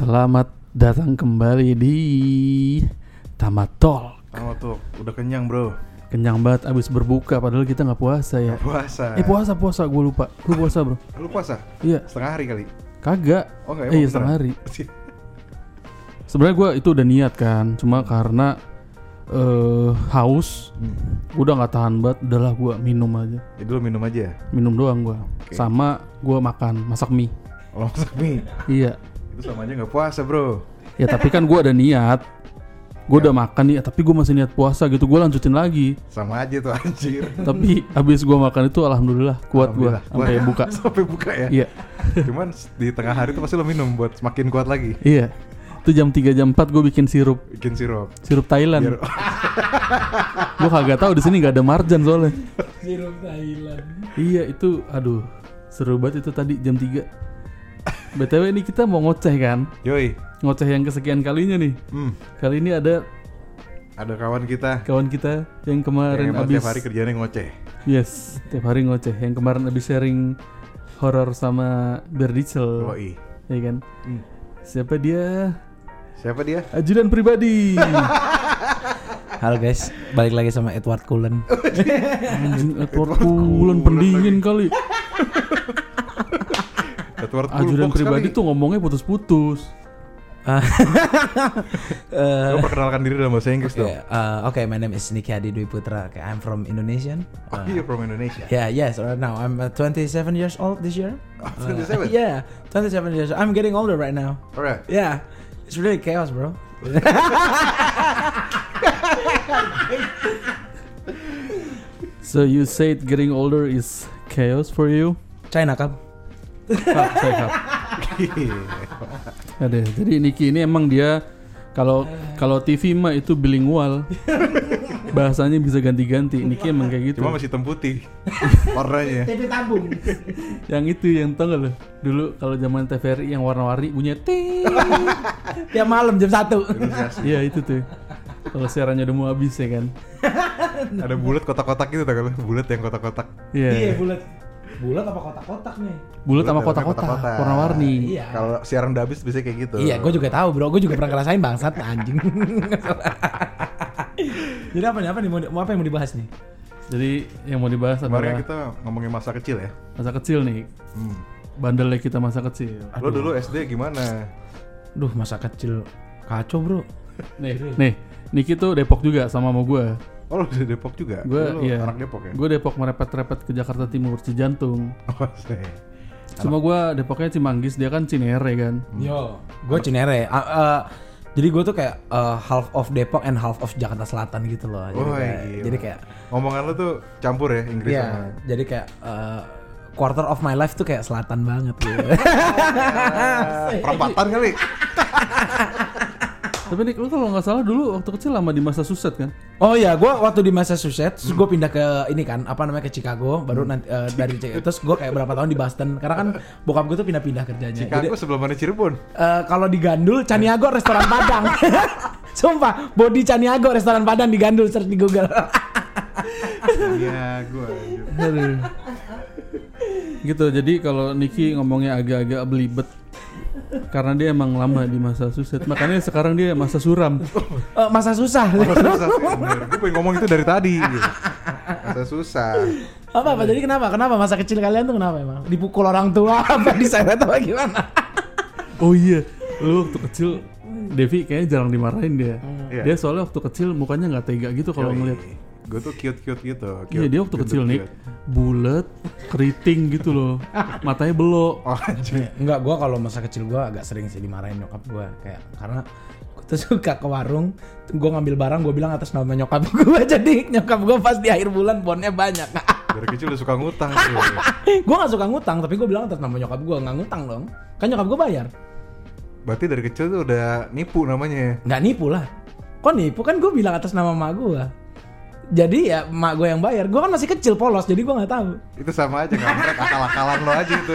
Selamat datang kembali di Tamatol. Tuh, udah kenyang bro. Kenyang banget abis berbuka, padahal kita gak puasa ya. Puasa. Gue lupa. Lu puasa bro? Lu puasa? Iya. Setengah hari kali? Kagak. Oh enggak, iya setengah hari. Sebenarnya gue itu udah niat kan, cuma karena haus, gue udah gak tahan banget, udahlah gue minum aja. Jadi lu minum aja? Minum doang gue. Okay. Sama gue masak mie. Oh, masak mie? Iya. Itu sama aja gak puasa bro. Ya tapi kan gue ada niat. Gue udah makan nih, tapi gue masih niat puasa gitu. Gue lanjutin lagi. Sama aja tuh anjir. Tapi abis gue makan itu alhamdulillah kuat gue sampai buka. Sampai buka ya? Iya. Cuman di tengah hari tuh pasti lo minum buat semakin kuat lagi. Iya. Itu jam 3 jam 4 gue bikin sirup. Sirup Thailand. Gue kagak tahu di sini nggak ada marjan soalnya. Sirup Thailand. Iya itu, aduh seru banget itu tadi jam 3. BTW ini kita mau ngoceh kan? Yoi. Ngoceh yang kesekian kalinya nih. Kali ini ada kawan kita yang kemarin yang abis tiap hari kerjanya ngoceh. Yes, tiap hari ngoceh. Yang kemarin abis sharing horor sama Berdicel. Yoi. Ya kan? Siapa dia? Ajudan pribadi. Halo guys, balik lagi sama Edward Cullen. Edward Cullen pendingin kali. Ajudan pribadi tuh ngomongnya putus-putus. Lo perkenalkan diri dalam bahasa Inggris dong. Okay, my name is Niki Hadi Dwi Putra. Okay, I'm from Indonesian. You're from Indonesia? Yes. Right now I'm 27 years old this year. 27? Yeah, 27 years. I'm getting older right now. Alright. Yeah, it's really chaos, bro. So you said getting older is chaos for you? China Cup. Saya Cup. Ada. Jadi Niki ini emang dia kalau TV mah itu bilingual. Bahasanya bisa ganti-ganti. Niki emang kayak gitu. Cuma masih hitam putih warnanya. TV tabung. Yang itu yang tau gak lo? Dulu kalau zaman TVRI yang warna-warni bunyinya ting. Tiap malam jam 1. Iya itu tuh. Kalau siarannya udah mau habis ya kan. Ada bulat kotak-kotak gitu tak kalau bulat yang kotak-kotak. Iya, bulat. Bulat apa kotak-kotak nih? Bulat sama kotak-kotak warna-warni. Iya. Kalau siaran udah habis biasanya kayak gitu. Iya, gue juga tahu bro, gue juga pernah ngerasain bangsat anjing. Jadi apa yang mau dibahas nih? Jadi yang mau dibahas kemarin adalah kita ngomongin masa kecil ya. Masa kecil nih. Bandelnya kita masa kecil. Lo dulu SD gimana? Duh, masa kecil kacau bro. Nih, Niki tuh Depok juga sama gue. Oh lo di Depok juga? Gue iya. Anak Depok ya? Gue Depok merepet-repet ke Jakarta Timur, Cijantung. Oh sih. Cuma gue Depoknya Cimanggis, dia kan Cinere kan. Yo, gue Cinere. Jadi gue tuh kayak half of Depok and half of Jakarta Selatan gitu loh. Jadi kayak ngomongan lo tuh campur ya Inggris iya, sama. jadi kayak quarter of my life tuh kayak selatan banget gitu. Perempatan kali. Tapi Nick, lu kalau nggak salah dulu waktu kecil lama di Massachusetts kan? Oh iya, gue waktu di Massachusetts, terus gue pindah ke ini kan, apa namanya, ke Chicago, baru nanti dari Chicago, terus gue kayak berapa tahun di Boston, karena kan bokap gue tuh pindah-pindah kerjanya. Chicago sebelum mana Cirebon? Kalau di Gandul, Caniago restoran Padang. Sumpah, body Caniago restoran Padang di Gandul, search di Google. Iya, gue. Gitu, jadi kalau Niki ngomongnya agak-agak belibet karena dia emang lama di Massachusetts, makanya sekarang dia masa suram. Masa susah. Gue pengen ngomong itu dari tadi. Gitu. Masa susah. Apa? Jadi kenapa masa kecil kalian tuh kenapa emang? Dipukul orang tua apa diseret apa gimana? Oh iya, lu waktu kecil Devi kayaknya jarang dimarahin dia. Iya. Dia soalnya waktu kecil mukanya nggak tega gitu kalau ngeliat. Gue tuh cute gitu. Iya, dia waktu kecil nih bulat, keriting gitu loh, matanya belok. Oh anjir. Enggak, gue kalau masa kecil gue agak sering sih dimarahin nyokap gue, kayak karena gue tuh suka ke warung, gue ngambil barang, gue bilang atas nama nyokap gue, jadi nyokap gue pas di akhir bulan bonnya banyak. Dari kecil udah suka ngutang. Gue nggak suka ngutang, tapi gue bilang atas nama nyokap gue, nggak ngutang dong, kan nyokap gue bayar. Berarti dari kecil tuh udah nipu namanya. Nggak nipu lah, kok nipu, kan gue bilang atas nama emak gue. Jadi ya emak gue yang bayar, gue kan masih kecil polos, jadi gue nggak tahu. Itu sama aja kan, akal-akalan lo aja itu.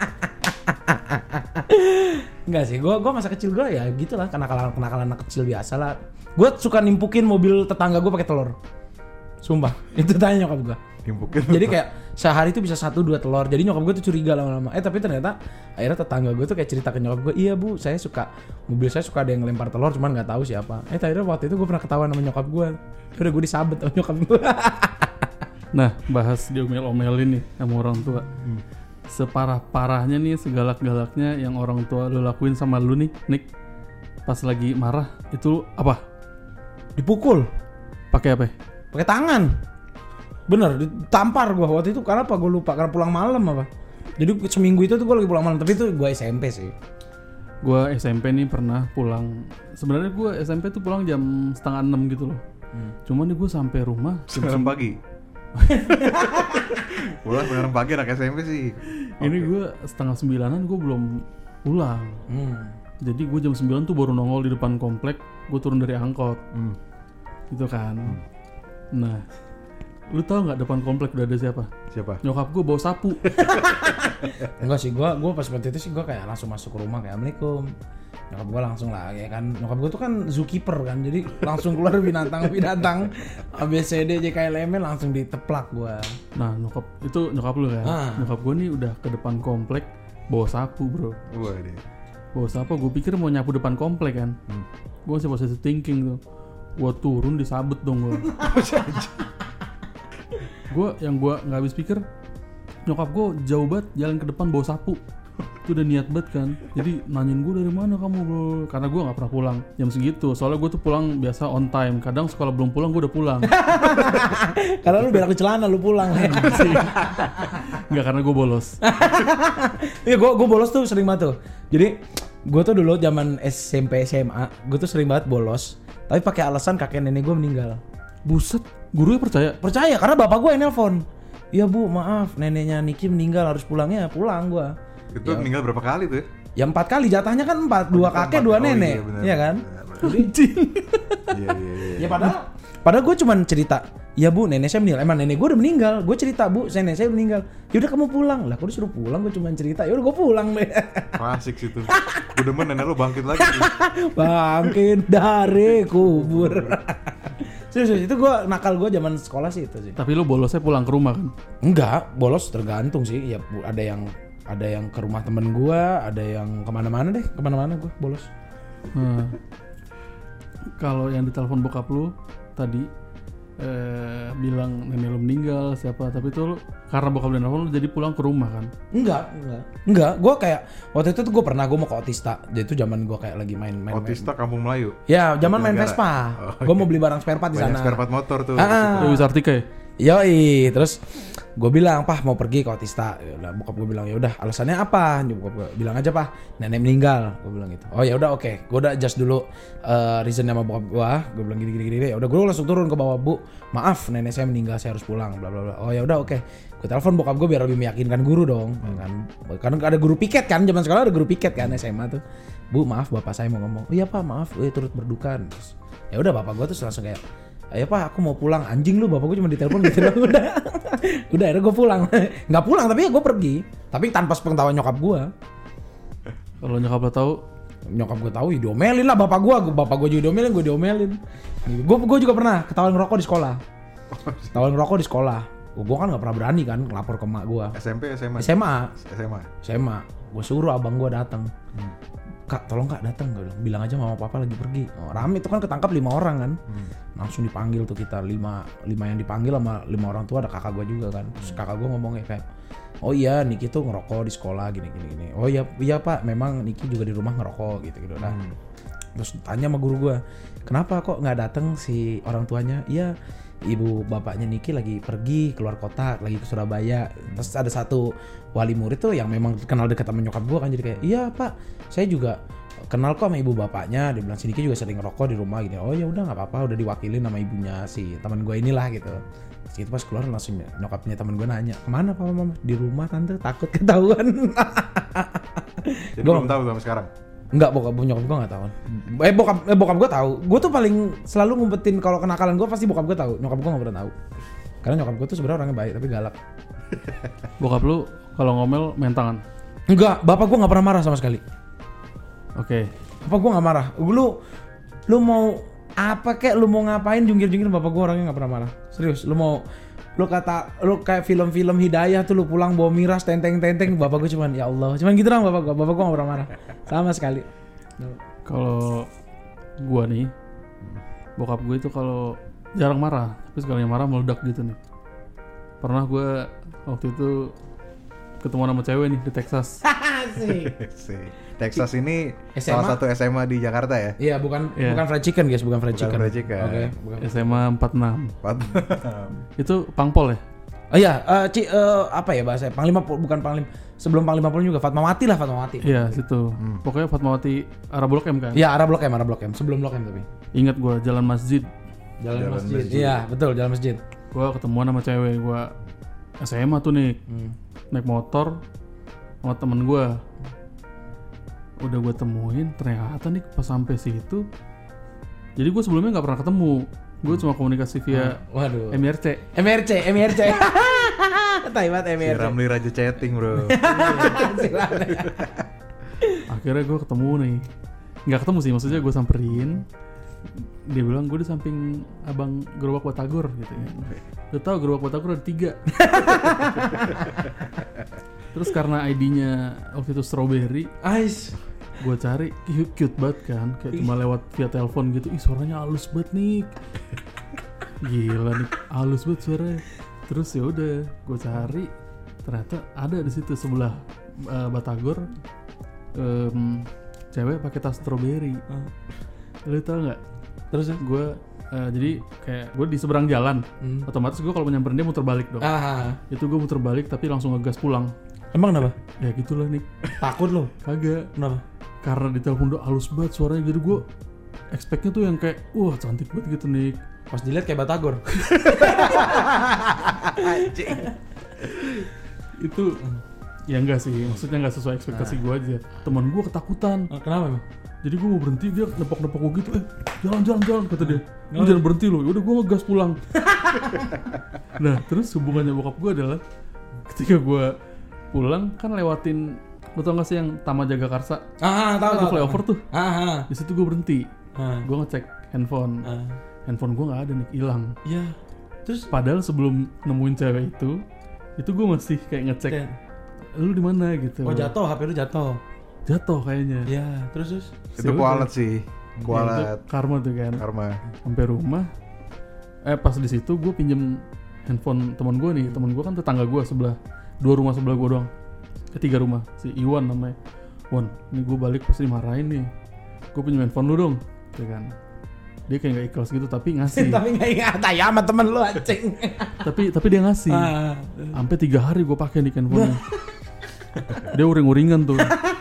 Enggak sih, gue masa kecil gue ya gitulah, kenakalan anak kecil biasa lah. Gue suka nimpukin mobil tetangga gue pakai telur. Sumpah, itu tanya nyokap gue. Timpukin. Jadi kayak sehari itu bisa 1-2 telur. Jadi nyokap gue tuh curiga lama-lama. Tapi ternyata akhirnya tetangga gue tuh kayak cerita ke nyokap gue, iya bu, mobil saya suka ada yang lempar telur, cuman nggak tahu siapa. Akhirnya waktu itu gue pernah ketahuan sama nyokap gue. Udah gue disabet sama nyokap gue. Nah, bahas diomel-omelin nih sama orang tua. Separah-parahnya nih, segalak-galaknya yang orang tua lu lakuin sama lu nih, Nick. Pas lagi marah itu apa? Dipukul. Pakai apa? Pakai tangan. Bener, ditampar gue waktu itu. Karena apa? Gue lupa, karena pulang malam apa. Jadi seminggu itu tuh gue lagi pulang malam. Tapi itu gue SMP sih. Gue SMP nih pernah pulang. Sebenarnya gue SMP tuh pulang jam 5:30 gitu loh. Cuman nih gue sampai rumah Jam 9 pagi. Pulang 9 pagi anak SMP sih. Ini gue 8:30 gue belum pulang. Jadi gue jam 9 tuh baru nongol di depan komplek. Gue turun dari angkot. Gitu kan. Nah, lu tahu nggak depan komplek udah ada siapa? Siapa? Nyokap gue bawa sapu. Enggak sih, gue pas waktu itu sih gue kayak langsung masuk ke rumah kayak Assalamualaikum. Nyokap gue langsung lah ya kan, nyokap gue tuh kan zookeeper kan, jadi langsung keluar binatang ABCD JKLM langsung diteplak gue. Nah nyokap lu kan, nyokap gue nih udah ke depan komplek bawa sapu bro. Waduh. Bawa sapu, gue pikir mau nyapu depan komplek kan. Gue masih positive thinking tuh, gue turun disabet dong gue. Yang gue nggak habis pikir, nyokap gue jauh banget jalan ke depan bawa sapu. Itu udah niat banget kan. Jadi nanyain gue dari mana kamu bro. Karena gue gak pernah pulang jam segitu. Soalnya gue tuh pulang biasa on time. Kadang sekolah belum pulang gue udah pulang. Karena lu berak di celana lu pulang. Enggak, karena gue bolos. Iya gue bolos tuh sering banget tuh. Jadi gue tuh dulu zaman SMP SMA gue tuh sering banget bolos. Tapi pakai alasan kakek nenek gue meninggal. Buset, gurunya percaya? Percaya karena bapak gue yang nelpon. Iya bu maaf neneknya Niki meninggal harus pulangnya. Pulang gue. Itu meninggal berapa kali tuh ya? Ya 4 kali, jatahnya kan 4, 2 kakek 2 nenek. Iya kan? Iya. Ya padahal gue cuman cerita, ya bu nenek saya meninggal. Emang nenek gue udah meninggal. Gue cerita bu nenek saya meninggal. Yaudah kamu pulang. Lah kok disuruh pulang, gue cuman cerita. Yaudah gue pulang deh. Asik situ. Gue demen nenek lu bangkit lagi. Bangkit dari kubur. Serius itu gue nakal gue zaman sekolah sih itu sih. Tapi lu bolosnya pulang ke rumah kan? Enggak, bolos tergantung sih. Ya ada yang ke rumah temen gue, ada yang kemana-mana gue bolos. Nah, kalau yang ditelepon bokap lu tadi bilang nenek lu meninggal siapa, tapi itu lu, karena bokap lu nelfon lu jadi pulang ke rumah kan? Enggak, gue kayak waktu itu tuh gue mau ke Otista. Jadi itu zaman gue kayak lagi main Otista Kampung Melayu. Ya, zaman main Vespa. Gue mau beli barang spare part di sana. Spare part motor tuh. Dewi Sartika ya? Yoi, terus gue bilang, "Pah, mau pergi ke Otista." Ya udah, bokap gue bilang, "Ya udah, alasannya apa?" Bokap gue bilang aja, "Pah, nenek meninggal." Gue bilang gitu. "Oh ya udah, oke. Gue udah adjust dulu reasonnya sama bokap gue." Gue bilang gini. Ya udah, gue langsung turun ke bawah, "Bu, maaf, nenek saya meninggal, saya harus pulang." Bla bla bla. "Oh ya udah, oke." Gue telepon bokap gue biar lebih meyakinkan guru dong, kan. Karena ada guru piket kan, zaman sekolah ada guru piket kan SMA tuh. "Bu, maaf, bapak saya mau ngomong." "Oh iya, Pak, maaf, turut berduka." Terus, ya udah, bapak gue tuh langsung kayak, "Ayo Pak, aku mau pulang." Anjing lu, bapak gue cuma ditelepon gitu doang. Udah akhirnya gue pulang. Nggak pulang tapi ya gue pergi. Tapi tanpa sepengetahuan nyokap gue. Kalau nyokap lo tahu? Nyokap gue tahu, ya diomelin lah bapak gue juga diomelin, gue diomelin. Gue juga pernah ketahuan ngerokok di sekolah. Gue kan nggak pernah berani kan ngelapor ke emak gue. SMP, SMA. Gue suruh abang gue datang. "Kak, tolong Kak datang." Gue bilang aja mama papa lagi pergi. Oh, rame itu kan ketangkap 5 orang kan. Langsung dipanggil tuh kita 5 yang dipanggil sama 5 orang tua, ada kakak gue juga kan. Terus kakak gue ngomongnya kayak, "Oh iya, Niki tuh ngerokok di sekolah gini. Oh iya Pak, memang Niki juga di rumah ngerokok gitu. Nah, terus tanya sama guru gue, "Kenapa kok nggak datang si orang tuanya?" "Iya, ibu bapaknya Niki lagi pergi keluar kota, lagi ke Surabaya." Terus ada satu wali murid tuh yang memang kenal dekat sama nyokap gue kan, jadi kayak, "Iya Pak, saya juga kenal kok sama ibu bapaknya." Dia bilang, "Si Niki juga sering ngerokok di rumah gini." "Oh ya udah nggak apa-apa, udah diwakilin sama ibunya si teman gue inilah gitu." Terus itu pas keluar langsung nyokapnya teman gue nanya, "Kemana Papa Mama?" "Di rumah Tante, takut ketahuan." Jadi belum tahu sampai sekarang. Enggak, nyokap gue nggak tahu. Bokap gue tahu. Gue tuh paling selalu ngumpetin kalau kenakalan gue pasti bokap gue tahu. Nyokap gue nggak pernah tahu. Karena nyokap gue tuh sebenarnya orangnya baik tapi galak. Bokap lu kalau ngomel main tangan? Enggak, bapak gue nggak pernah marah sama sekali. Oke. Bapak gue nggak marah. Lu mau apa kek, lu mau ngapain jungkir-jungkir, bapak gue orangnya nggak pernah marah. Serius, lu mau lu kayak film-film Hidayah tuh lu pulang bawa miras tenteng-tenteng, bapak gue cuman ya Allah. Cuman gitu dong bapak gue gak pernah marah. Sama sekali. Kalau gue nih, bokap gue itu kalau jarang marah, tapi sekali marah meledak gitu nih. Pernah gue waktu itu ketemu sama cewek nih di Texas. Texas ini SMA? salah satu SMA di Jakarta ya? Iya, bukan fried chicken guys, bukan fried chicken. Oke. SMA 46. Itu Pangpol ya? Oh iya, apa ya bahasa? Panglima bukan Panglima. Sebelum Panglima Pol juga Fatmawati. Iya, situ. Pokoknya Fatmawati arah Blok M kan? Iya, arah Blok M. Sebelum Blok M tapi. Ingat gue jalan masjid. Jalan masjid. Iya, betul, jalan masjid. Gue ketemuan sama cewek, gue SMA tuh nih. Naik motor sama temen gue. Udah gue temuin, ternyata nih pas sampai situ. Jadi gue sebelumnya nggak pernah ketemu. Gue cuma komunikasi via MRC. Taiwan MRC. Si Ramli Raja chatting bro. Akhirnya gue ketemu nih. Nggak ketemu sih, maksudnya gue samperin. Dia bilang gue di samping abang gerobak batagor gitu ya. Udah tahu gerobak batagor ada 3. Terus karena ID-nya waktu itu strawberry, gue cari cute banget kan, kayak cuma lewat via telepon gitu. Ih suaranya halus banget nih, gila nih, halus banget suaranya. Terus ya udah, gue cari, ternyata ada di situ sebelah batagor, cewek pakai tas strawberry. Lu tau nggak? Terus gue jadi kayak gue di seberang jalan, otomatis gue kalau menyamperin dia muter balik dong. Itu gue muter balik tapi langsung ngegas pulang. Emang kenapa? Ya gitulah nih. Takut lo? Kagak. Kenapa? Karena di telepon udah halus banget suaranya, jadi gue expect-nya tuh yang kayak wah cantik banget gitu nih. Pas dilihat kayak batagor. Itu ya enggak sih, maksudnya enggak sesuai ekspektasi gue aja. Teman gue ketakutan. Kenapa emang? Jadi gue mau berhenti, dia nepok-nepok gue gitu, jalan kata dia. Lu jangan berhenti lo. Udah gue ngegas pulang. Nah terus hubungannya bokap gue adalah ketika gue pulang kan lewatin, lu tau gak sih yang Taman Jagakarsa? Tahu. Flyover tuh. Di situ gue berhenti. Gue ngecek handphone. Handphone gue nggak ada nih, hilang. Iya. Terus padahal sebelum nemuin cewek itu gue masih kayak ngecek. Lu di mana gitu. Oh jatuh, HP lu jatuh. Jatuh kayaknya. Iya, terus. Itu kualat sih. Kualat. Karma tuh kan. Karma. Sampai rumah. Pas di situ gue pinjem handphone teman gue nih. Teman gue kan tetangga gue sebelah. 2 rumah sebelah gue doang. 3 rumah. Si Iwan namanya. Wan, ini gue balik pasti dimarahin nih. Gue pinjem handphone lu dong. Ya kan. Dia kayak gak ikhlas gitu tapi ngasih. Tapi gak ingat ya sama temen lu anjing. tapi dia ngasih. Sampai 3 hari gue pakai nih handphonenya. Dia uring-uringan tuh.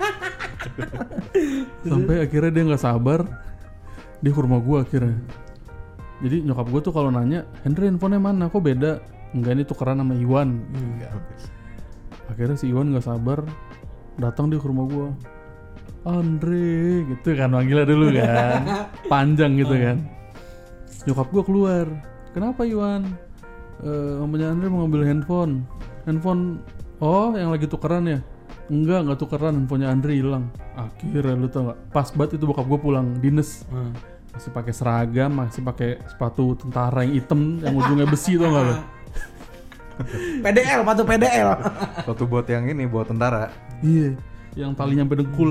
Sampai akhirnya dia nggak sabar, dia ke rumah gue akhirnya. Jadi nyokap gue tuh kalau nanya, Henry handphonenya mana? Kok beda? Enggak, ini tukeran sama Iwan. Akhirnya si Iwan nggak sabar, datang dia ke rumah gue. Andre, gitu kan manggilnya dulu kan, panjang gitu kan. Nyokap gue keluar, kenapa Iwan? Mamanya Andre mau ngambil handphone. Oh, yang lagi tukeran ya? Enggak tukeran, handphonenya Andre hilang. Akhirnya lu tau gak? Pas banget itu bokap gue pulang dinas. Masih pakai seragam, masih pakai sepatu tentara yang hitam yang ujungnya besi tau gak lu? PDL, sepatu PDL. Sepatu buat yang ini, buat tentara. Iya, yang talinya sampai dengkul.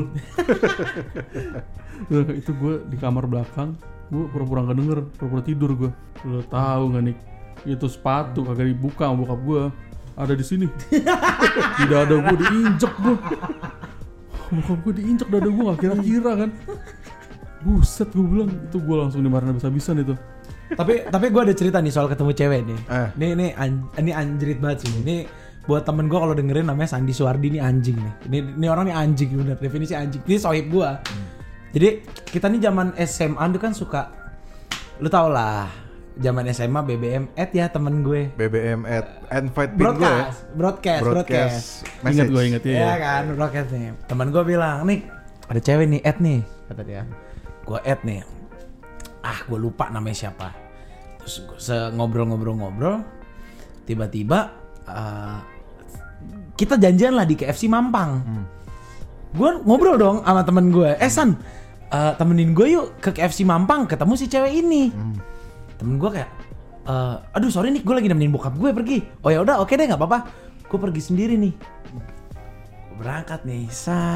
Itu gue di kamar belakang, gue pura-pura gak denger, pura-pura tidur gue. Lu tahu gak nih? Itu sepatu kagak dibuka sama bokap gue. Ada di sini. Di dada gue diinjek gue. Bokap gue diinjek dada gue gak kira-kira kan. Buset gue bilang, itu gue langsung dimarahin habis-habisan itu. Tapi gue ada cerita nih soal ketemu cewek nih. Ini anjrit banget sih. Ini buat temen gue kalau dengerin namanya Sandi Suwardi, ini anjing nih. Ini orang nih anjing bener, definisi anjing. Ini sohib gue. Jadi kita nih zaman SMA tuh kan suka, lu tau lah. Zaman SMA BBM ya temen gue. BBM invite pin gue. Broadcast. Ingat ya. Iya kan, broadcast nih. Temen gue bilang, "Nih, ada cewek nih, add nih." Kata dia. Gue add nih. Gue lupa namanya siapa. Terus ngobrol-ngobrol, tiba-tiba kita janjian lah di KFC Mampang. Gue ngobrol dong sama temen gue. San, temenin gue yuk ke KFC Mampang, ketemu si cewek ini. Temen gue kayak, aduh sorry nih gue lagi nemenin bokap gue pergi. Oh ya udah oke deh nggak apa-apa. Gue pergi sendiri nih. Gue berangkat nih.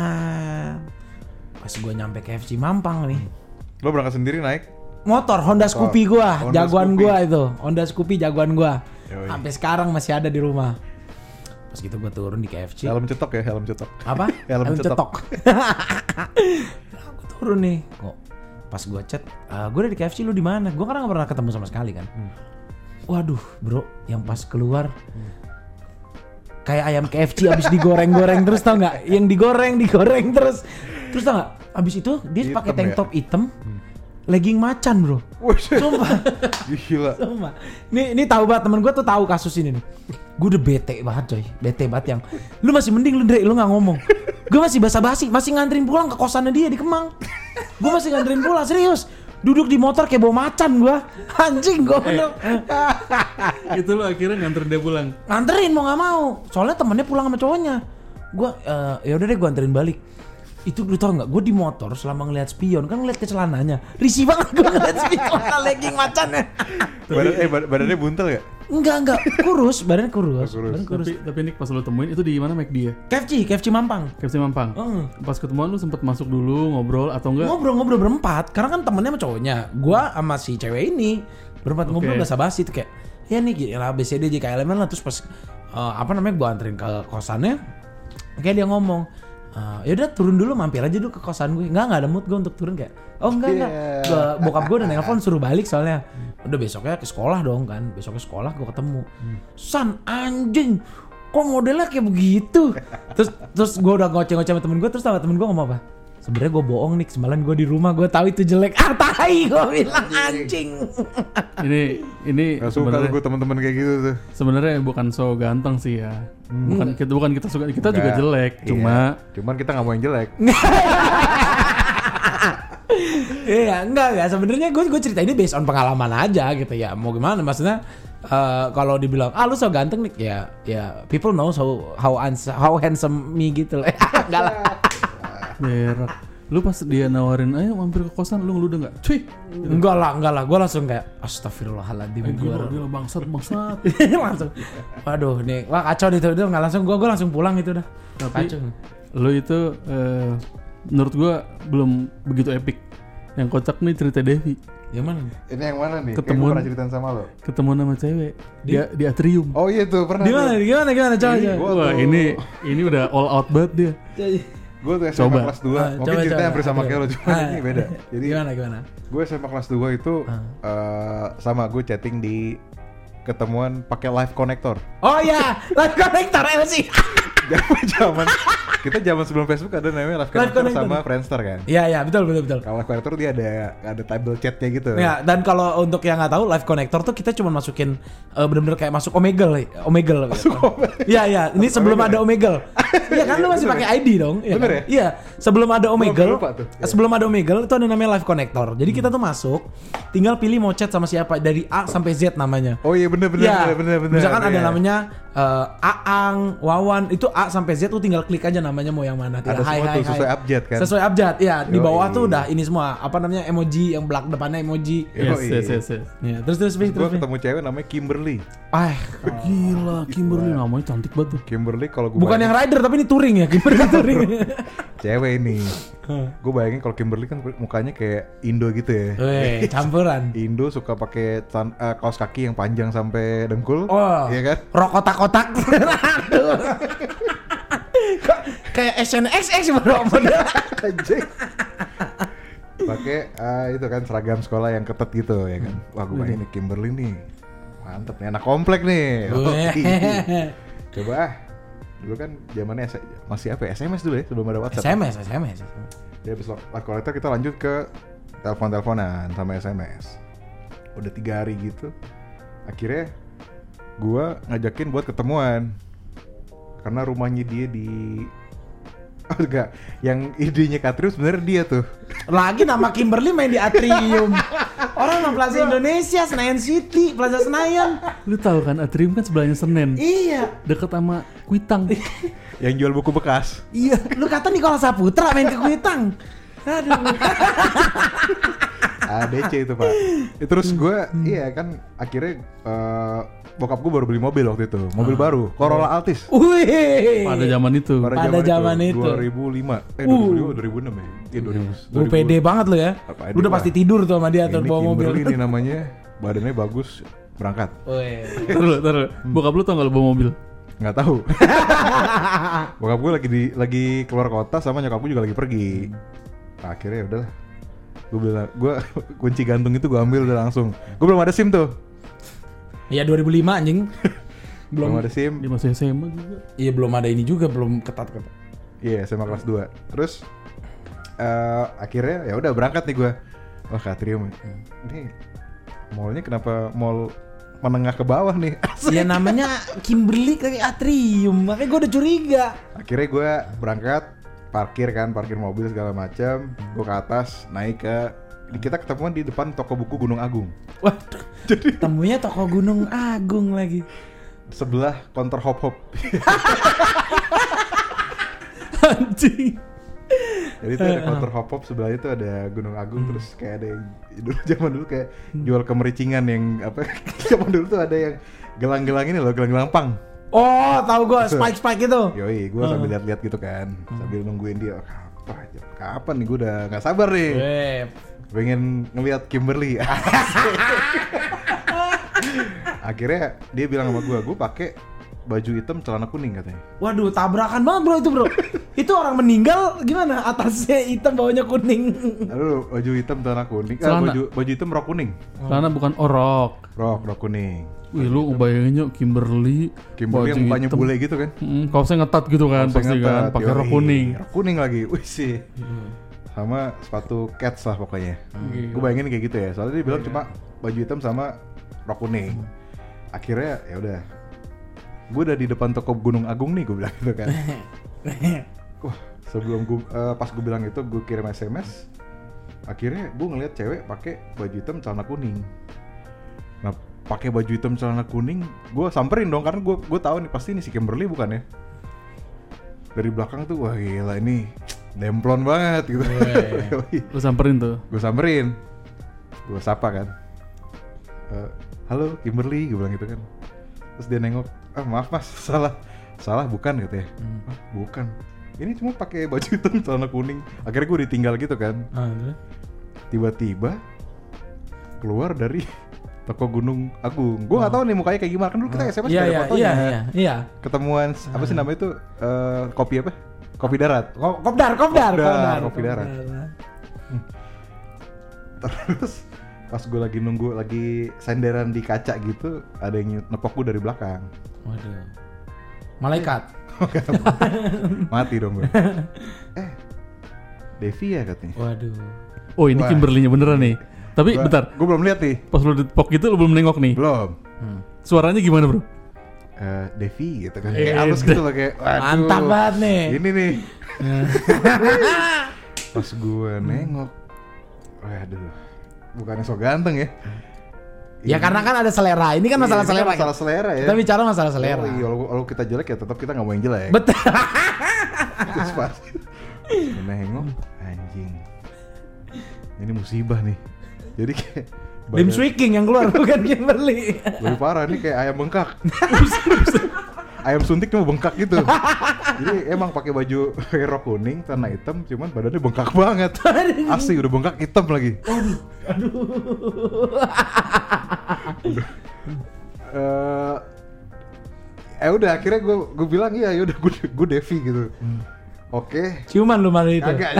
Pas gue nyampe KFC Mampang nih. Lo berangkat sendiri naik? Motor Honda Scoopy gue, jagoan gue itu. Honda Scoopy jagoan gue. Sampai sekarang masih ada di rumah. Pas gitu gue turun di KFC. Helm cetok ya, helm cetok. Apa? Helm cetok. Gue turun nih. Kok pas gue chat, gue udah di KFC, lu di mana? Gue kan nggak pernah ketemu sama sekali kan. Waduh, bro, yang pas keluar kayak ayam KFC abis digoreng-goreng terus tau nggak? Yang digoreng terus tau nggak? Abis itu dia pakai tank top hitam, legging macan bro. Sumpah. Gila. Sumpah. Ini tahu banget temen gue tuh tahu kasus ini nih. Gue udah bete banget coy, bete banget yang lu masih mending lu Dre, lu nggak ngomong. Gue masih basa-basi, masih nganterin pulang ke kosannya dia di Kemang. Gue masih nganterin pulang serius. Duduk di motor kayak bawa macan gue. Anjing gue bener. Itu lo akhirnya nganterin dia pulang. Nganterin mau nggak mau. Soalnya temennya pulang sama cowoknya. Gue ya udah deh gue anterin balik. Itu lu tau nggak? Gue di motor selama ngeliat spion kan ngeliat ke celananya. Risih banget gue ngeliat spion legging macannya. Badannya buntel gak? Enggak, badannya kurus. Tapi Nick pas lo temuin itu di mana McD ya? KFC Mampang. KFC Mampang. Pas ketemuan lu sempet masuk dulu ngobrol atau enggak? Ngobrol berempat, karena kan temennya sama cowoknya. Gua sama si cewek ini berempat ngobrol basa-basi tuh kayak, ya nih gila ABCD JKLM lah. Terus pas gua anterin ke kosannya, kayak dia ngomong, ya udah turun dulu, mampir aja dulu ke kosan gue. Enggak ada mood gue untuk turun kayak. Oh enggak. Bokap gue udah nelpon suruh balik soalnya. Udah besoknya ke sekolah dong kan. Besoknya sekolah gue ketemu. San anjing, kok modelnya kayak begitu? terus gue udah ngoceh-ngoceh sama temen gue. Terus temen gue ngomong apa? Sebenarnya gue bohong nih, semalam gue di rumah gue tahu itu jelek. Tai gue bilang anjing. Ini gak suka gue teman-teman kayak gitu tuh. Sebenarnya bukan so ganteng sih ya. Bukan kita suka, kita juga jelek. Cuman kita nggak mau yang jelek. Iya enggak sebenarnya gue cerita ini based on pengalaman aja gitu ya. Mau gimana maksudnya kalau dibilang lu so ganteng nih ya people know how handsome me gitu lah. Enggak lah. Berak. Lu pas dia nawarin ayo mampir ke kosan lu udah enggak? Cuy. Enggak lah. Gue langsung kayak astagfirullahaladzim. Gue bangsat. Langsung. Waduh nih, wah kacau itu udah enggak langsung gue langsung pulang itu udah. Tapi kacau. Lu itu menurut gue belum begitu epic. Yang kocak nih cerita Devi. Yang mana? Ini yang mana nih? Ketemuan, pernah ceritain sama lo. Ketemuan sama cewek di atrium. Oh iya tuh pernah. Gimana coba. Wah ini udah all out banget dia. Gue tuh SMA kelas 2. Mungkin ceritanya hampir sama kayak lo, cuma ini beda. Jadi gimana? Gue SMA kelas 2 itu sama gue chatting di ketemuan pakai live connector. Oh iya, live connector sih. Zaman sebelum Facebook ada namanya live connector sama Friendster kan. Iya betul. Kalau live connector dia ada table chatnya gitu. Ya, dan kalau untuk yang nggak tahu live connector tuh kita cuma masukin benar-benar kayak masuk Omegle. Iya, ini sebelum ada Omegle. Iya kan lu masih pakai ID dong. Bener ya? Iya, sebelum ada Omegle. Sebelum ada Omegle itu ada namanya live connector. Jadi kita tuh masuk, tinggal pilih mau chat sama siapa dari A sampai Z namanya. Oh iya bener. Misalkan ada namanya Aang, Wawan, itu A sampai Z tuh tinggal klik aja namanya mau yang mana. Ada semua tuh sesuai abjad kan. Sesuai abjad, ya. Di bawah tuh udah ini semua apa namanya emoji yang belakang depannya emoji. Yes. Ya, terus. Gue ketemu cewek namanya Kimberly. Gila, Kimberly namanya cantik banget tuh. Kimberly kalau gue bukan yang rider tapi ini touring ya, Kimberly touring. Cewek ini. Gue bayangin kalau Kimberly kan mukanya kayak Indo gitu ya. Campuran. Indo suka pakai kaos kaki yang panjang sampai dengkul. Iya kan? Rok kotak-kotak. Kayak SNXX bro. Pakai itu kan seragam sekolah yang ketat gitu ya kan. Wah gue bayangin nih Kimberly nih. Mantep nih, anak komplek nih. Coba dulu kan zamannya masih apa ya? SMS dulu ya sebelum ada WhatsApp. SMS. Ya habis live connector kita lanjut ke telepon-teleponan sama SMS. Udah 3 hari gitu. Akhirnya gua ngajakin buat ketemuan. Karena rumahnya dia di enggak, yang idenya Katrium sebenarnya dia tuh. Lagi nama Kimberly main di Atrium. Orang nama Plaza Indonesia, Senayan City, Plaza Senayan. Lu tahu kan Atrium kan sebelahnya Senen. Iya. Deket sama Kuitang. Yang jual buku bekas. Iya. Lu kata Nicholas Saputra main ke Kuitang. Aduh. ADC itu Pak. Terus gue iya kan akhirnya bokap gue baru beli mobil waktu itu, mobil baru, Corolla Altis. Wih. Pada zaman itu. Pada zaman itu. 2005, 2005, 2006 ya. Iya 2000. Lu pede banget lu ya. Lu udah pasti tidur tuh sama dia tuh bawa mobil. Ini namanya, badannya bagus, berangkat. Terus. Bokap lu tau gak lu bawa mobil? Nggak tahu. Bokap gue lagi keluar kota sama nyokap gue juga lagi pergi. Nah, akhirnya udahlah. Gue kunci gantung itu gue ambil udah langsung. Gue belum ada SIM tuh. Iya 2005 anjing. belum ada SIM. Dia masih SMA juga. Iya belum ada ini juga, belum ketat. Iya, SMA kelas 2. Terus akhirnya ya udah berangkat nih gue. Wah, Katrium. Ini mallnya kenapa mall menengah ke bawah nih? Ya namanya Kimberly kayak Atrium, makanya gue udah curiga. Akhirnya gue berangkat, parkir mobil segala macam. Gue ke atas, naik ke kita ketemuan di depan toko buku Gunung Agung. Waduh, jadi temunya toko Gunung Agung lagi. Sebelah counter hop. Anjing. Jadi itu ada counter hop sebelah itu ada Gunung Agung. Terus kayak ada yang zaman dulu kayak jual kemericingan yang apa? Zaman dulu tuh ada yang gelang-gelang ini loh, gelang-gelang pang. Oh, tahu gue spike itu. Yoi, gue sambil lihat-lihat gitu kan, sambil nungguin dia. Kapan nih, gue udah nggak sabar nih. Pengen ngelihat Kimberly. Akhirnya dia bilang sama gue pakai baju hitam celana kuning katanya. Waduh, tabrakan banget bro itu bro. Itu orang meninggal gimana? Atasnya hitam, bawahnya kuning. Lalu baju hitam celana kuning. Baju hitam rok kuning. Celana bukan rok kuning. Wih, lu ngebayanginnya Kimberly yang mukanya bule gitu kan? Kaosnya ngetat gitu kan, pasti kan, pakai rok kuning. Rok kuning lagi, wih sih. Sama sepatu Keds lah pokoknya. Gue bayangin kayak gitu ya. Soalnya dia bilang cuma baju hitam sama rok kuning. Akhirnya ya udah. Gue udah di depan toko Gunung Agung nih, gue bilang gitu kan. Wah, sebelum gue pas gue bilang itu gue kirim SMS. Akhirnya gue ngeliat cewek pakai baju hitam celana kuning. Nah, pakai baju hitam celana kuning, gue samperin dong karena gue tahu nih pasti ini si Kimberly bukan ya. Dari belakang tuh, wah gila ini demplon banget gitu. Lu samperin tuh? Gue samperin, gue sapa kan. Halo Kimberly, gue bilang gitu kan. Terus dia nengok, maaf mas, salah bukan gitu ya. Bukan. Ini cuma pakai baju hitam celana kuning. Akhirnya gue ditinggal gitu kan. Tiba-tiba keluar dari toko Gunung Agung. Gue nggak tahu nih mukanya kayak gimana. Kan dulu kita SMS ada fotonya. Iya. Ketemuan apa sih namanya itu kopi apa? Kopi darat. Kopdar. Kopi darat. Terus pas gue lagi nunggu lagi senderan di kaca gitu, ada yang nepok gue dari belakang. Waduh. Malaikat. Mati dong gue. Devi ya katanya. Waduh. Oh ini Kimberly-nya beneran nih. Tapi bentar. Gue belum lihat nih. Pas lu ditepok gitu lu belum nengok nih? Belum. Suaranya gimana bro? Devi gitu kan. Kayak halus gitu loh kayak. Waduh, mantap banget nih. Ini nih. Pas gue nengok. Waduh. Bukannya so ganteng ya. Ya karena kan ada selera. Ini kan masalah selera. Masalah selera ya. Kita bicara masalah selera. Kalau kita jelek ya tetap kita nggak mau yang jelek. Betul. Terus pas nengok, anjing. Ini musibah nih. Jadi kayak Lim Swiking yang keluar bukan Kimberly. Lebih parah nih kayak ayam bengkak. Ayam suntik cuma bengkak gitu. Jadi emang pakai baju rok kuning, celana hitam, cuman badannya bengkak banget. Asli udah bengkak hitam lagi. Udah akhirnya gue bilang iya ya udah gue Devi gitu. Oke. Ciuman lu malah itu. Agak.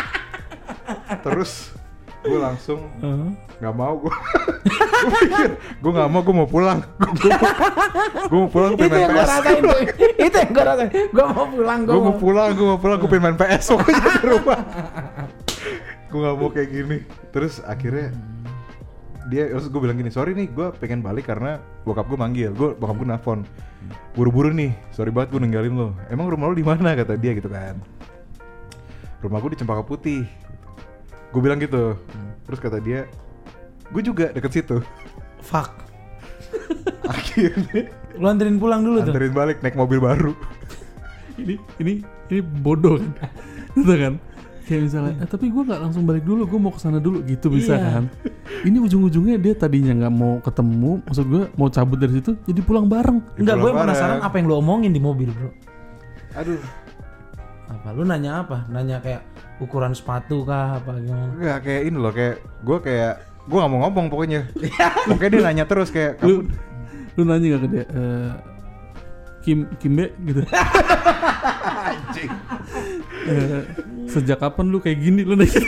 Terus gue langsung nggak mau gue pikir gue nggak mau, gue mau pulang. Gue mau pulang itu main yang gue rasain tuh. Itu yang gue rasain. Gue mau pulang. Gue mau pulang. Gue pengen main PS pokoknya di rumah. Gue nggak mau kayak gini. Terus akhirnya terus gue bilang gini, sorry nih gue pengen balik karena bokap gue manggil. Bokap gue nelfon, buru-buru nih, sorry banget gue ninggalin lo. Emang rumah lo di mana kata dia gitu kan. Rumah gue di Cempaka Putih. Gue bilang gitu. Terus kata dia, gue juga deket situ. Fuck. Akhirnya lu anterin pulang dulu tuh. Anterin balik naik mobil baru. Ini bodoh kan. Gitu kan. Kayak misalnya, tapi gue nggak langsung balik dulu, gue mau kesana dulu gitu bisa kan. Ini ujung-ujungnya dia tadinya nggak mau ketemu, maksud gue mau cabut dari situ, jadi pulang bareng. Enggak, gue penasaran apa yang lu omongin di mobil, bro. Aduh. Apa? Lu nanya apa? Nanya kayak ukuran sepatu kah apa gimana? Enggak, kayak ini loh, kayak gue nggak mau ngomong pokoknya. Pokoknya dia nanya terus kayak Lu nanya nggak ke dia? Kimbe gitu. Anjing. Sejak kapan lu kayak gini lu nanya?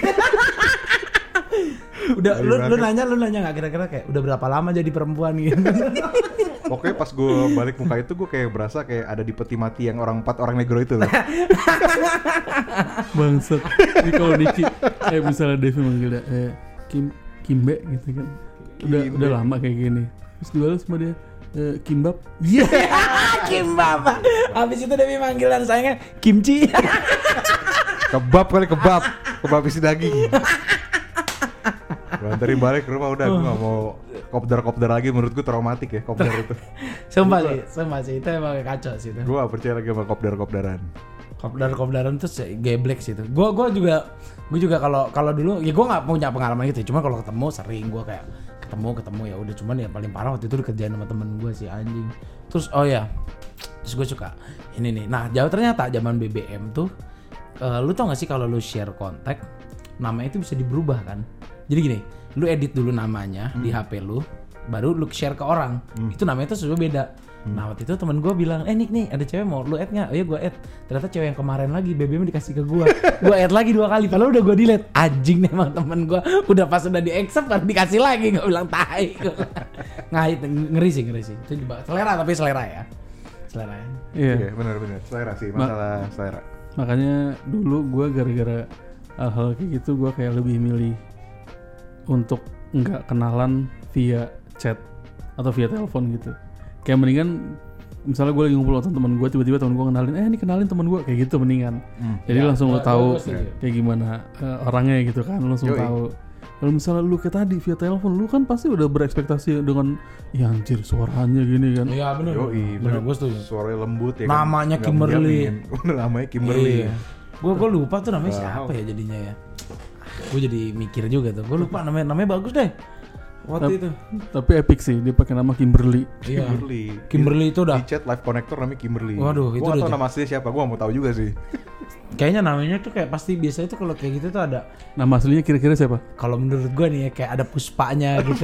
Udah lu nanya nggak kira-kira kayak udah berapa lama jadi perempuan gitu? Pokoknya pas gue balik muka itu gue kayak berasa kayak ada di peti mati yang 4 orang negro itu loh. Bangsat. Ini kalau Niki misalnya Devi manggil dia Kimbe gitu kan. Udah lama kayak gini. Terus dibalas sama dia Kimbab. Iya. Kimbab. Habis itu Devi manggilan sayangnya kimchi. Kebab isi daging. Gue anterin balik ke rumah udah, gue gak mau kopdar lagi, menurut gue traumatik ya kopdar itu. Sumpah sih, itu emang kacau sih itu. Gue gak percaya lagi sama kopdaran. Kopdar tuh geblek sih itu. Gue juga kalau dulu ya gue nggak punya pengalaman gitu. Cuma kalau ketemu sering gue kayak ketemu ya udah, cuman ya paling parah waktu itu dikerjain sama temen gue si anjing. Terus terus gue suka ini nih. Nah ternyata zaman BBM tuh lu tau gak sih kalau lu share kontak namanya itu bisa diberubah kan. Jadi gini, lu edit dulu namanya di HP lu, baru lu share ke orang. Itu namanya tuh sudah beda. Nah waktu itu temen gue bilang, nih ada cewek mau lu add nggak? Oh iya gue add. Ternyata cewek yang kemarin lagi BBM dikasih ke gue. Gue add lagi 2 kali, padahal udah gue delete. Anjing nih emang temen gue. Udah pas udah di accept baru dikasih lagi, gue bilang tai. Nah itu ngeri sih. Itu juga selera, tapi selera ya. Selera ya. Iya, benar. Selera sih, masalah selera. Makanya dulu gue gara-gara hal-hal kayak gitu gue kayak lebih milih untuk nggak kenalan via chat atau via telepon gitu. Kayak mendingan misalnya gue lagi ngumpul sama teman gue, tiba-tiba teman gue kenalin teman gue kayak gitu mendingan. Jadi langsung lo tahu kayak gimana orangnya gitu kan, lo langsung tahu. Kalau misalnya lu kayak tadi via telepon, lu kan pasti udah berekspektasi dengan ya anjir suaranya gini kan. Iya benar. Benar, gue setuju. Suaranya lembut ya. Namanya kan? Kimberly. Namanya Kimberly. Iya. Gue lupa tuh namanya siapa ya jadinya ya. Gue jadi mikir juga tuh. Gue lupa namanya bagus deh. Waktu itu. Tapi epic sih, dia pakai nama Kimberly. Iya. Kimberly itu udah. Di chat live connector namanya Kimberly. Waduh, itu udah. Gua tahu nama aslinya siapa, gua mau tahu juga sih. Kayaknya namanya tuh kayak pasti biasanya tuh kalau kayak gitu tuh ada. Nama aslinya kira-kira siapa? Kalau menurut gue nih ya kayak ada puspanya gitu.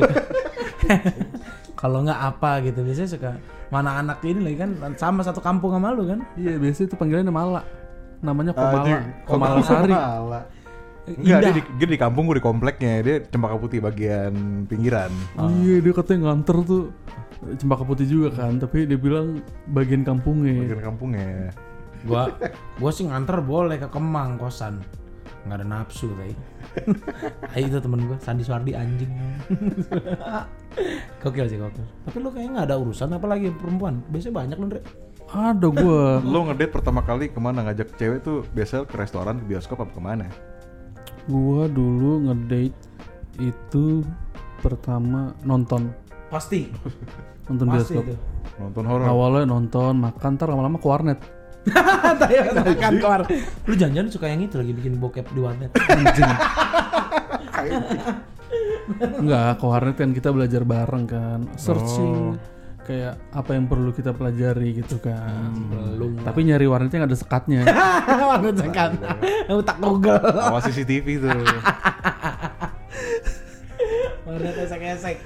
Kalau nggak apa gitu, biasanya suka mana anak ini lagi kan sama satu kampung sama lu kan? Iya, biasanya itu panggilannya Mala. Namanya Komala Sari. Enggak, dia di kampung, gue di kompleknya. Dia Cempaka Putih bagian pinggiran. Iya, dia katanya nganter tuh Cempaka Putih juga kan, tapi dia bilang bagian kampungnya. Gua sih nganter boleh ke Kemang kosan. Nggak ada nafsu tadi. Itu temen gue Sandi Suardi anjing. Gokil sih. Tapi lu kayaknya nggak ada urusan apalagi perempuan. Biasanya banyak lu, Ndre. Ada gua. Lo ngedate pertama kali kemana, ngajak cewek tuh biasanya ke restoran, ke bioskop apa kemana? Gua dulu ngedate itu pertama nonton. Pasti. Nonton bioskop. Nonton horor. Awalnya nonton, makan, ntar lama-lama ke warnet. Makan keluar. Lu jangan-jangan suka yang itu lagi bikin bokep di warnet. Anjing. Enggak, ke warnet kan kita belajar bareng kan. Searching kayak apa yang perlu kita pelajari gitu kan. Belum. Tapi nyari warnetnya nggak ada sekatnya. Warnet sekat. Utak Google. Awas CCTV tuh. Warnet esek-esek.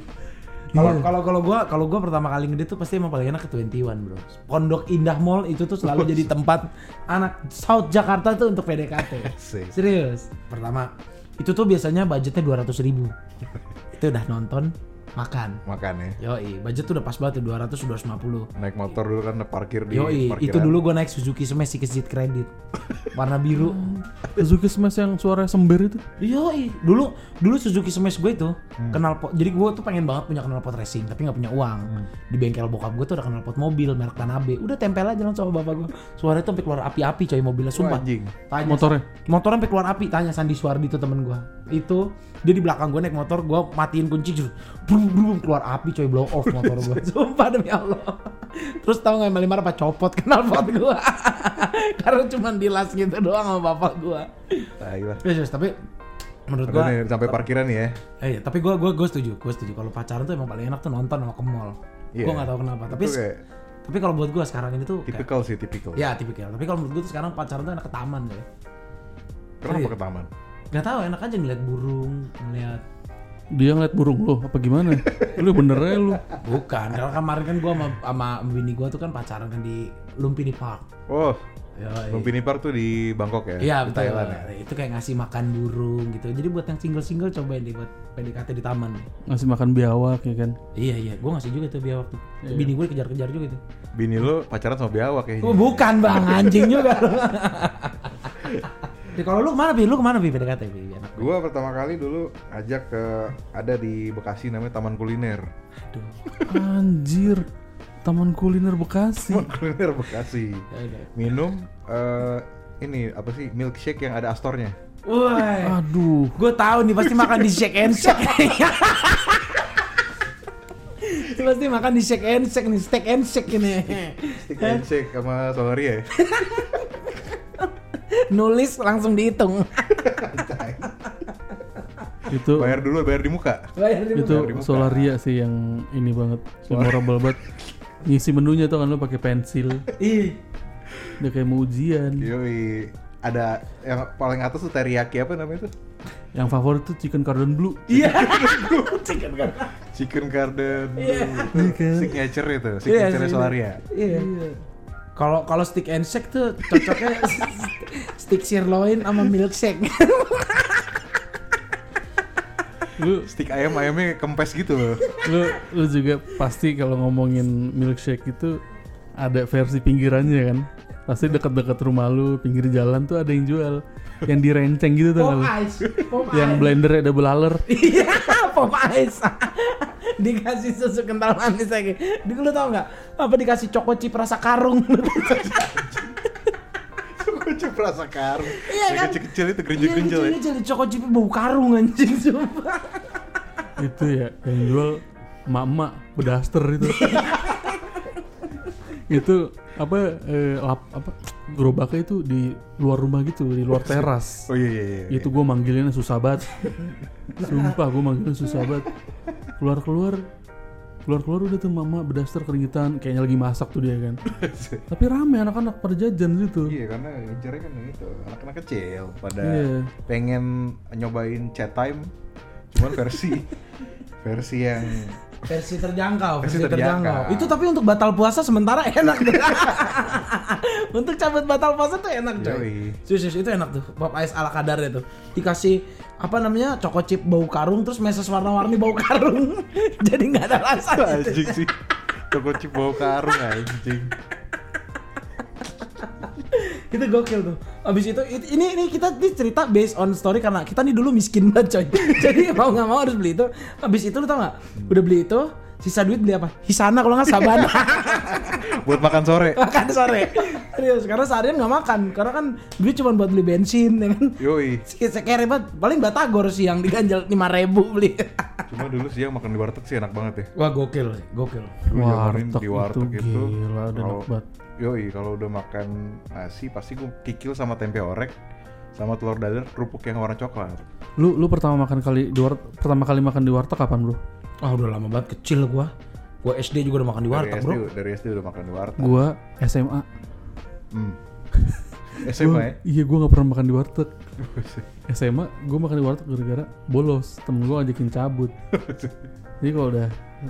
Kalau gua pertama kali ngedate tuh pasti emang paling enak ke 21 bro. Pondok Indah Mall itu tuh selalu jadi tempat anak South Jakarta tuh untuk PDKT. Serius. Pertama itu tuh biasanya budgetnya 200.000. Itu udah nonton, makan ya. Yoi, budget tuh udah pas banget tuh 200-250. Naik motor dulu kan parkir di parkiran. Itu dulu gue naik Suzuki Smash Kredit kredit warna biru. Suzuki Smash yang suaranya sember itu. Yoi, dulu Suzuki Smash gue itu knalpot. Jadi gue tuh pengen banget punya knalpot racing tapi nggak punya uang. Di bengkel bokap gue tuh ada knalpot mobil merek Tanabe. Udah tempel aja langsung sama bapak gue. Suaranya tuh sampai keluar api-api coy mobilnya, sumpah. Tanya motornya sampai keluar api. Tanya Sandi Suardi itu temen gue. Itu dia di belakang gue naik motor, gue matiin kunci brum keluar api coy, blow off motor gue. Sumpah demi Allah. Terus tahu nggak yang paling marah apa? Copot knalpot gue. Karena cuma dilas gitu doang sama bapak gue. Ayolah. Yes, tapi menurut Udah gua nih, sampai parkiran nih ya. tapi gua setuju kalau pacaran tuh emang paling enak tuh nonton sama ke mall. Iya. Gua nggak tahu kenapa, Itu kayak tapi kalau buat gua sekarang ini tuh kayak, tipikal. ya tipikal. Tapi kalau menurut gua tuh sekarang pacaran tuh enak ke taman ya. Kenapa ke taman? Gak tahu, enak aja ngeliat burung, ngeliat. Dia ngeliat burung lo apa gimana? Lu bener aja lu. Bukan, karena kemarin kan gua sama bini gua tuh kan pacaran kan di Lumpini Park. Oh, Yoi. Lumpini Park tuh di Bangkok ya? Iya Di betul. Thailand ya? Itu kayak ngasih makan burung gitu. Jadi buat yang single cobain deh buat PDKT di taman. Ngasih makan biawak ya kan. Iya, gua ngasih juga tuh biawak tuh. Iya. Bini gue dikejar-kejar juga tuh. Bini lu pacaran sama biawak kayaknya. Oh, bukan bang, anjing juga. Kalau lu kemana Bi PDKT Bi? Enak. Gua pertama kali dulu ajak ke ada di Bekasi namanya Taman Kuliner. Aduh. Anjir. Taman Kuliner Bekasi. Taman Kuliner Bekasi. Ya udah. Minum ini apa sih milkshake yang ada astornya. Woi. Aduh. Gue tahu nih pasti makan di Shake and Shake. Pasti makan di Shake and Shake nih, Steak and Shake ini. Stick and shake sama Solaria ya. Nulis langsung dihitung. Itu Bayar di muka. Bayar di itu di muka. Solaria sih yang ini banget. Memorable banget. Ngisi menunya tuh kan lu pakai pensil. Ih. Udah kayak mau ujian. Yoi. Ada yang paling atas tuh teriyaki apa namanya tuh? Yang favorit tuh chicken cordon bleu. Iya. Chicken kan. Chicken Garden. Iya. Signature itu, signature Solaria. Iya. Kalau stick and shake tuh cocoknya stick sirloin sama milkshake. Stick ayamnya kempes gitu loh. Lu juga pasti kalau ngomongin milkshake itu ada versi pinggirannya kan. Pasti dekat-dekat rumah lu, pinggir jalan tuh ada yang jual. Yang direnceng gitu tuh Pop lu. ice. Yang blendernya double laler. Iya, pop ice. Dikasih susu kental manis lagi. Lu tau nggak? Apa dikasih choco chip rasa karung? Kocok rasa karung. Iya Yang kan? kecil-kecil itu gerinjel-gerinjel ya. Iya, jadi choco chip bau karung anjing sumpah. Itu ya yang jual emak-emak bedaster itu. Itu apa gerobaknya itu di luar rumah gitu, di luar teras. Oh iya. Itu gue manggilinnya susah banget. Sumpah gue manggilinnya susah banget. Keluar udah tuh mama bedaster keringetan, kayaknya lagi masak tuh dia kan. Tapi rame anak-anak pada jajan gitu. Iya, karena ngejarnya kan gitu, anak-anak kecil pada Iya. pengen nyobain chat time, cuman versi yang Versi terjangkau. Versi terjangkau. Itu tapi untuk batal puasa sementara enak. Untuk cabut batal puasa tuh enak coy. Yoi. Serius itu enak tuh. Pop ice ala kadarnya tuh. Dikasih apa namanya choco chip bau karung terus meses warna-warni bau karung. Jadi nggak ada rasa. anjing sih. Choco chip bau karung anjing. Itu gokil tuh. Abis itu ini kita cerita based on story karena kita nih dulu miskin banget coy. Jadi mau nggak mau harus beli itu. Abis itu lu tau nggak? Udah beli itu, sisa duit beli apa? Hisana kalau nggak Sabana. Buat makan sore. Makan sore. Serius, karena seharian nggak makan. Karena kan duit cuma buat beli bensin, ya kan? Yoi. Sekere banget. Paling batagor siang diganjal 5.000 beli. Cuma dulu siang makan di warteg sih enak banget ya. Wah gokil. Dulu zamannya di warteg itu gila, udah enak banget. Yoi, kalau udah makan nasi pasti gue kikil sama tempe orek sama telur dadar kerupuk yang warna coklat. Lu pertama kali makan di warteg kapan, Bro? Ah udah lama banget, kecil gua SD juga udah makan di warteg, bro. Dari SD udah makan di warteg. Gua SMA. SMA ya? Iya, gua nggak pernah makan di warteg. SMA gua makan di warteg gara-gara bolos. Temen gua ngajakin cabut. Jadi kalau udah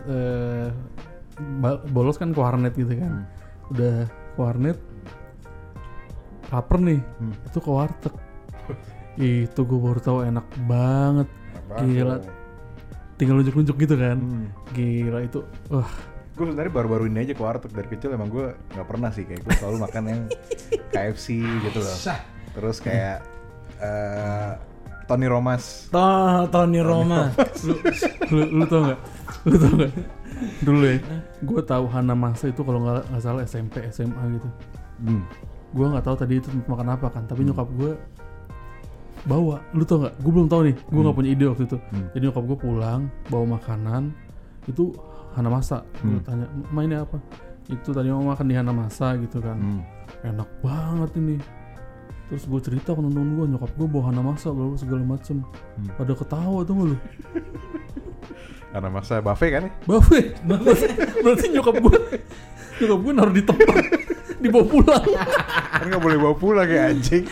bolos kan ke warnet gitu kan. Udah ke warnet lapar nih, itu ke warteg. Itu gue baru tahu enak banget. Gila, tinggal nunjuk-nunjuk gitu kan. Gila itu, wah. Gue sebenarnya baru-baru ini aja ke warteg. Dari kecil emang gue nggak pernah sih, kayak gue selalu makan yang KFC gitu loh. Terus kayak Tony Romas. Tony Roma. Lu tau nggak? Dulu ya, gue tahu Hanamasa itu kalau nggak salah SMP SMA gitu. Gue nggak tahu tadi itu makan apa kan, tapi nyokap gue bawa. Lu tau nggak? Gue belum tahu nih, gue nggak punya ide waktu itu. Jadi nyokap gue pulang bawa makanan itu Hanamasa. Gue tanya, "Ma ini apa?" Itu tadi mau makan di Hanamasa gitu kan. Enak banget ini. Terus gue cerita ke temen gue, nyokap gue bawa Hanamasa bla segala macem. Pada ketawa tuh lu. Karena masa buffet kan ya? Buffet. Berarti nyokap gue naruh di tempat, dibawa pulang. Kan nggak boleh bawa pulang kayak anjing.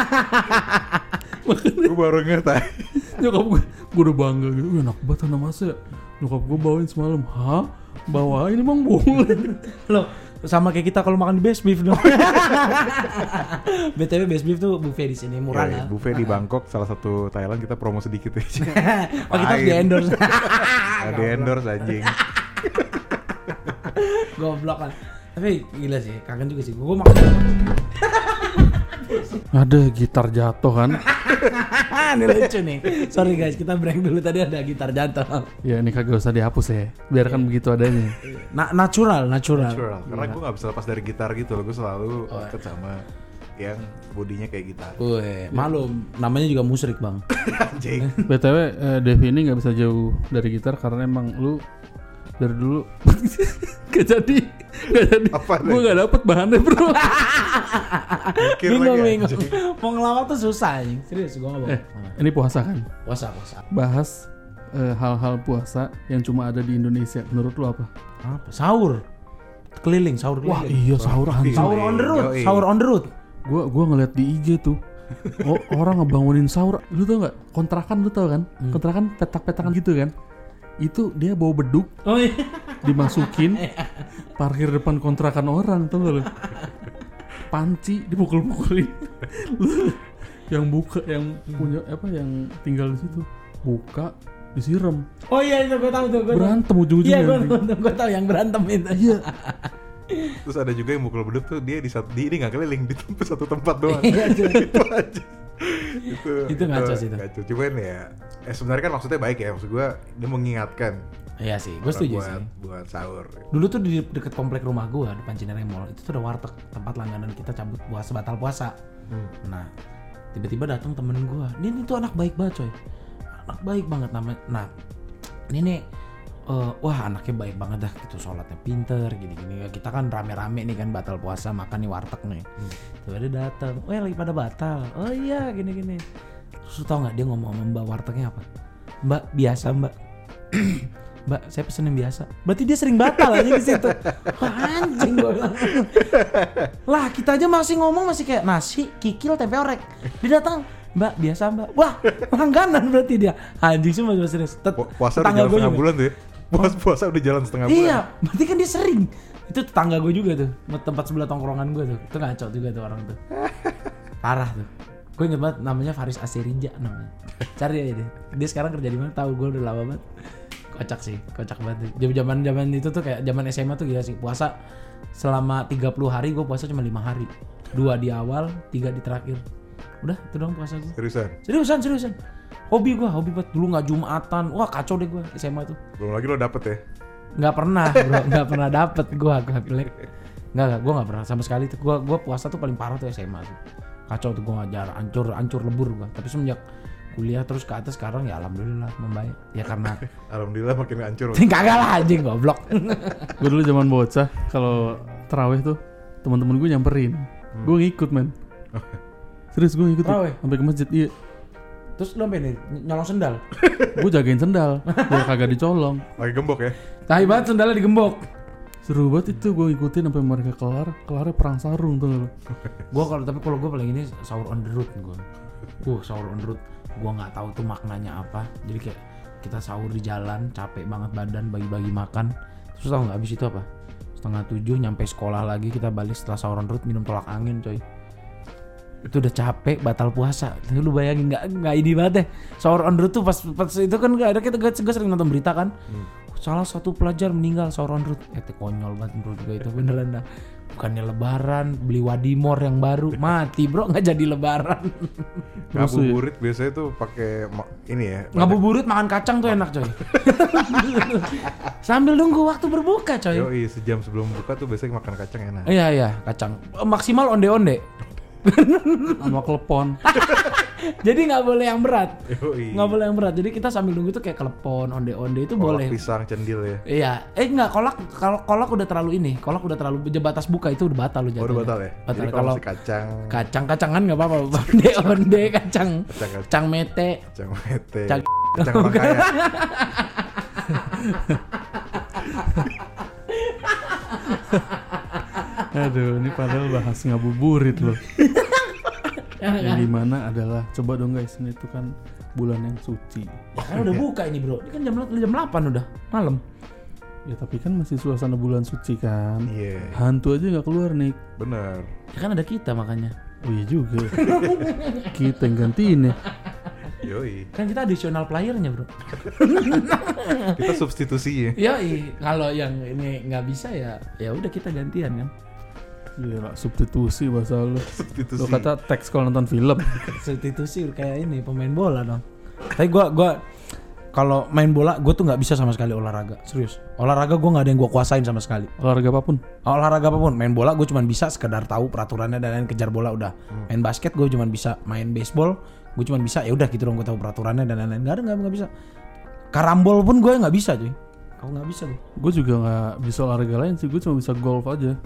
Gue baru ngerti. Nyokap gue udah bangga gitu. Enak banget Hanamasa ya. Nyokap gue bawain semalam. Hah? Bawain emang boleh? Loh, sama kayak kita kalau makan di Best Beef dong. BTW Best Beef tuh buffet di sini murah lah. Buffet di Bangkok, salah satu Thailand, kita promo sedikit aja. Oh kita harus di-endorse. Di-endorse anjing. Goblok kan. Tapi gila sih, kangen juga sih. Gue makan. Ada gitar jatuh kan? Ini lucu nih. Sorry guys, kita break dulu, tadi ada gitar jatuh. Ya ini kagak usah dihapus ya. Biarkan begitu adanya. Natural. Karena gue gak bisa lepas dari gitar gitu loh. Gue selalu deket sama yang bodinya kayak gitar. Wih, maklum, namanya juga musrik bang. Anjing. BTW Devi ini gak bisa jauh dari gitar karena emang lu dari dulu gak jadi. Gue gak dapet bahannya bro. Bingung. Mau ngelawak tuh susah anjing. Serius gue ngomong. Ini puasa kan? Puasa. Bahas hal-hal puasa yang cuma ada di Indonesia. Menurut lu apa? Sahur keliling. Wah iya sahur anjing. Sahur on the road. Gue ngeliat di IG tuh. Orang ngebangunin sahur. Lu tau gak? Kontrakan lu tau kan? Kontrakan petak-petakan gitu kan? Itu dia bawa beduk. Oh iya. Dimasukin. Parkir depan kontrakan orang, tau gak lu? Panci dipukul-pukulin. Yang buka, yang punya apa, yang tinggal di situ buka, disiram. Oh iya itu gue tahu tuh. Berantem ujung-ujungnya. Iya gue tahu yang berantem itu. Iya. Terus ada juga yang mukul beduk tuh dia ini nggak keliling di satu tempat doang. Itu aja. Itu ngaco sih itu. Ngaco. Cuman ya, sebenarnya kan maksudnya baik ya. Maksud gue dia mengingatkan. Iya sih, gue setuju sih. Buat sahur. Dulu tuh di deket komplek rumah gue, depan Cinere Mall, itu tuh ada warteg, tempat langganan kita cabut batal puasa. Nah, tiba-tiba datang temen gue. Ini tuh anak baik banget coy. Anak baik banget namanya. Nah, ini nih, wah anaknya baik banget dah gitu, sholatnya pinter, gini-gini. Kita kan rame-rame nih kan batal puasa, makan nih warteg nih. Tuh dia datang, lagi pada batal. Oh iya, gini-gini. Terus tau nggak dia ngomong sama mbak wartegnya apa? Mbak biasa mbak. Mbak, saya pesen yang biasa. Berarti dia sering batal aja di situ. Wah, anjing gue bilang. Lah, kita aja masih ngomong masih kayak nasi, kikil, tempe orek. Dia datang, Mbak, biasa Mbak. Wah, langganan berarti dia. Anjing sih masih serius. Puasa udah jalan setengah bulan tuh ya. Puasa udah jalan setengah bulan. Iya, berarti kan dia sering. Itu tetangga gue juga tuh. Tempat sebelah tongkrongan gue tuh. Itu ngaco juga tuh orang tuh. Parah tuh. Gue inget banget namanya Faris Asirija namanya. Cari aja deh. Dia sekarang kerja di mana? Tahu gue udah lama banget. Kocak banget. Zaman itu tuh kayak zaman SMA tuh gila sih. Puasa selama 30 hari gue puasa cuma 5 hari. 2 di awal, 3 di terakhir. Udah, itu doang puasa gue. Seriusan. Hobi banget. Dulu enggak Jumatan. Wah, kacau deh gue SMA tuh. Belum lagi lo dapet ya? Enggak pernah, bro. Enggak pernah dapet gue pilek. Enggak, gue enggak pernah sama sekali tuh. Gue puasa tuh paling parah tuh SMA tuh. Kacau tuh gue ngajar, hancur lebur gue. Tapi semenjak kuliah terus ke atas sekarang ya alhamdulillah membaik. Ya karena alhamdulillah makin hancur. Kagak lah anjing goblok. Gue dulu zaman bocah kalau tarawih tuh teman-teman gue nyamperin. Gue ngikut men. Serius gue ngikut sampai ke masjid. Iya. Terus lo apa nih? Nyolong sendal? Gue jagain sendal biar kagak dicolong. Lagi gembok ya? Tai banget sendalnya digembok. Seru banget itu, gue ngikutin sampai mereka kelarnya perang sarung tuh. Kalau gue paling ini sahur on the road gue. Sahur on the road. Gue nggak tahu tuh maknanya apa. Jadi kayak kita sahur di jalan, capek banget badan, bagi-bagi makan. Terus tau nggak abis itu apa? 6:30 nyampe sekolah lagi, kita balik setelah sahur on the road minum tolak angin coy. Itu udah capek, batal puasa. Lu bayangin nggak ini banget deh. Sahur on the road tuh pas itu kan ada gue sering nonton berita kan. Salah satu pelajar meninggal sahur on the road. Konyol banget bro juga itu beneran dah. Bukannya lebaran, beli Wadimor yang baru, mati bro, nggak jadi lebaran. Ngabuburit biasanya tuh pakai ini ya. Ngabuburit makan kacang tuh enak coy. Sambil nunggu waktu berbuka coy. Yoi, sejam sebelum buka tuh biasanya makan kacang enak. Iya kacang. Maksimal onde-onde. Sama klepon. Jadi nggak boleh yang berat. Yoi. Nggak boleh yang berat. Jadi kita sambil nunggu tuh kayak kelepon, onde-onde itu Kolak boleh. pisang cendil ya. Iya, enggak kolak, kalau kolak udah terlalu ini, kolak udah terlalu batas buka itu udah batal lu jatuhnya. Udah batal ya. Batal. Jadi kalau masih kacang, Kacang-kacangan nggak apa-apa, onde kacang, kacang mete, kacang mete, Cang- kacang orang kaya. Aduh, ini padahal bahas ngabuburit loh. Yang dimana adalah, coba dong guys, ini tuh kan bulan yang suci. Ya kan udah buka ini bro, ini kan jam 8 udah malam. Ya tapi kan masih suasana bulan suci kan. Iya. Hantu aja nggak keluar nih. Bener. Ya kan ada kita makanya. Oh iya juga. Kita yang gantiin ya. Yoi. Kan kita additional playernya bro. Kita substitusi ya. Yoi, kalau yang ini nggak bisa ya udah kita gantian kan. Gila, substitusi bahasa lu. Substitusi. Lu kata teks kalau nonton film. Substitusi kayak ini pemain bola dong. Tapi gua kalau main bola gue tuh nggak bisa sama sekali olahraga, serius. Olahraga gue nggak ada yang gue kuasain sama sekali. Olahraga apapun. Olahraga apapun, main bola gue cuma bisa sekedar tahu peraturannya dan lain, kejar bola udah. Main basket gue cuma bisa, main baseball gue cuma bisa, ya udah gitu dong, gue tahu peraturannya dan lain-lain. Nggak bisa. Karambol pun gue nggak bisa cuy. Kau nggak bisa tuh. Gue juga nggak bisa olahraga lain sih, gue cuma bisa golf aja.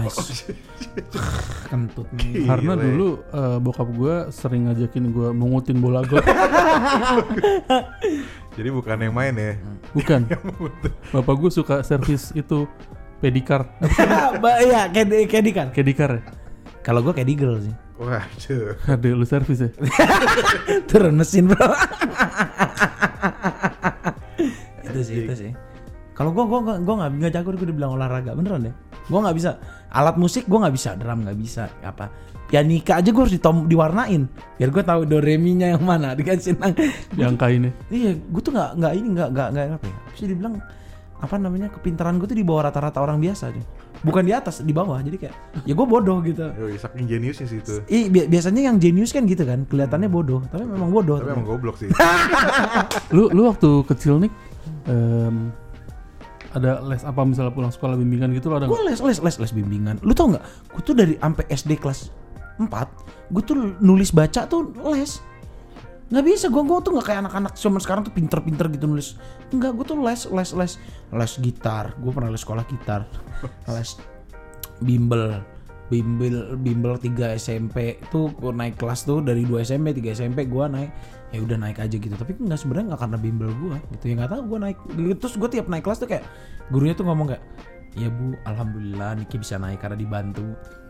Kentut nih. Karena dulu bokap gue sering ngajakin gue mengutin bola golf. Jadi bukan yang main ya. Bukan. Bapak gue suka servis itu pedikar. Iya, kedikan. Kedikar ya? Kalau gue kedigel sih. Waduh. Ada lu servis ya? Turun mesin bro. itu sih. Kalau gue nggak jago, gue dibilang olahraga beneran deh. Gue nggak bisa alat musik, gue nggak bisa drum, nggak bisa apa pianika aja gue harus diwarnain biar gue tahu do re mi nya yang mana dikasih nang. Yang kainnya. Iya, gue tuh nggak apa ya? Bisa dibilang apa namanya, kepintaran gue tuh di bawah rata-rata orang biasa aja. Bukan di atas, di bawah. Jadi kayak ya gue bodoh gitu. Yoi, saking jeniusnya sih itu. Biasanya yang jenius kan gitu kan, kelihatannya bodoh, tapi memang bodoh. Tapi emang goblok sih. Lu waktu kecil nih ada les apa misalnya pulang sekolah bimbingan gitu lo ada? Gue les bimbingan. Lu tau nggak? Gue tuh dari sampai SD kelas 4, gue tuh nulis baca tuh les. Nggak bisa, gue tuh nggak kayak anak-anak zaman sekarang tuh pinter-pinter gitu nulis. Enggak, gue tuh les gitar. Gue pernah les sekolah gitar. Les bimbel 3 SMP tuh gue naik kelas tuh dari 2 SMP 3 SMP gue naik, ya udah naik aja gitu. Tapi nggak, sebenarnya nggak karena bimbel gue gitu ya, nggak tahu gue naik. Terus gue tiap naik kelas tuh kayak gurunya tuh ngomong kayak, ya bu, alhamdulillah Niki bisa naik karena dibantu.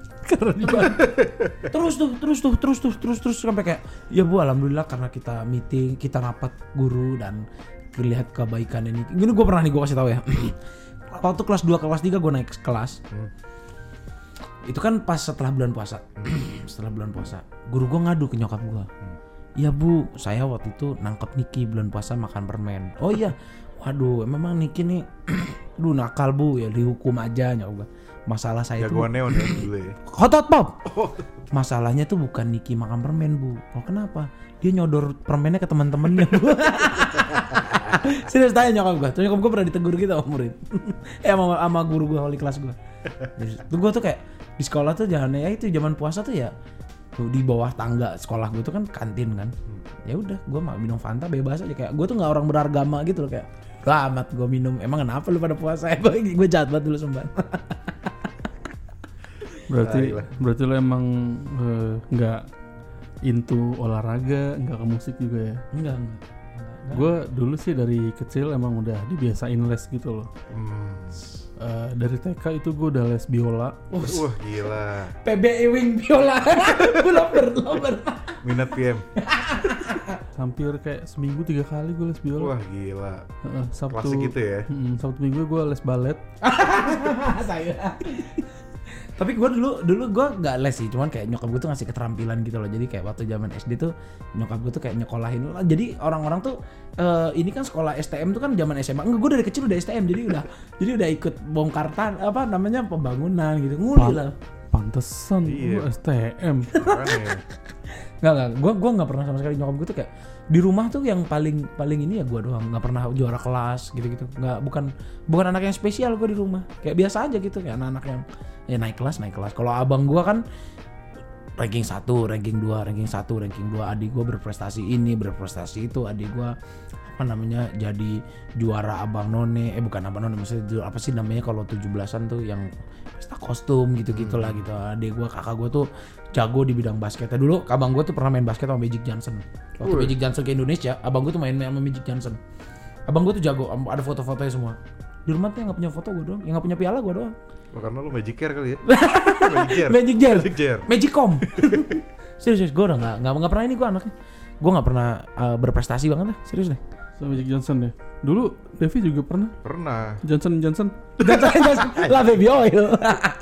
terus sampai kayak, ya bu, alhamdulillah karena kita meeting, kita rapat guru dan lihat kebaikan ini. Gini gue pernah nih, gue kasih tahu ya. Waktu kelas 2 kelas 3 gue naik kelas. Itu kan pas setelah bulan puasa. Setelah bulan puasa, guru gue ngadu ke nyokap gue. Ya bu, saya waktu itu nangkep Niki bulan puasa makan permen. Oh iya, waduh, memang Niki nih, aduh nakal bu, ya dihukum aja nyokap gue. Masalah saya tuh jagoan neon ya dulu ya. Hot pop. Masalahnya tuh bukan Niki makan permen bu. Oh kenapa? Dia nyodor permennya ke teman-temannya bu. Serius tanya nyokap gue. Terus nyokap gue pernah ditegur gitu sama murid. Sama guru gue wali kelas gue. Tuh gue tuh kayak di sekolah tuh jangan, ya itu zaman puasa tuh ya tuh di bawah tangga sekolah gue tuh kan kantin kan. Ya udah, gue mau minum Fanta bebas aja, kayak gue tuh nggak orang beragama gitu loh, kayak amat gue minum. Emang kenapa lu pada puasa? Gue jahat banget dulu semban. Berarti lo emang nggak into olahraga, nggak ke musik juga ya? Enggak. Gue dulu sih dari kecil emang udah dibiasain les gitu loh. Dari TK itu gue udah les biola. Wah gila. PBI Wing Biola. Gue lover. Minat PM. Hampir kayak seminggu 3 kali gue les biola. Wah gila. Sabtu Klasik gitu ya. Sabtu minggu gue les balet. Saya. Tapi gue dulu gue nggak les sih, cuman kayak nyokap gue tuh ngasih keterampilan gitu loh. Jadi kayak waktu zaman SD tuh nyokap gue tuh kayak nyekolahin. Jadi orang-orang tuh ini kan sekolah STM tuh kan zaman SMA. Enggak, gue dari kecil udah STM, jadi udah ikut bongkar pembangunan gitu. Nguli lah. Pantesan gue STM. Enggak, gue nggak pernah sama sekali. Nyokap gue tuh kayak di rumah tuh yang paling ini ya gue doang, nggak pernah juara kelas gitu. Nggak, bukan anak yang spesial gue di rumah, kayak biasa aja gitu, kayak anak-anak yang ya naik kelas. Kalau abang gue kan ranking 1, ranking 2, ranking 1, ranking 2. Adik gue berprestasi ini, berprestasi itu. Adik gue jadi juara Abang None. Bukan Abang None, maksudnya apa sih namanya kalau 17-an tuh yang pesta kostum gitu-gitu lah gitu. Adik gue, kakak gue tuh jago di bidang basketnya. Dulu abang gue tuh pernah main basket sama Magic Johnson. Waktu Magic Johnson ke Indonesia, abang gue tuh main sama Magic Johnson. Abang gue tuh jago, ada foto-fotonya semua. Di rumah tuh yang gak punya foto gue doang, yang gak punya piala gue doang. Karena lu Magic Care kali ya. Magic Jar. Magicom. Serius, gue udah nggak pernah ini gue anaknya. Gue nggak pernah berprestasi banget lah, serius deh. Sama Magic Johnson ya. Dulu Devi juga pernah. Johnson. Lah baby oil.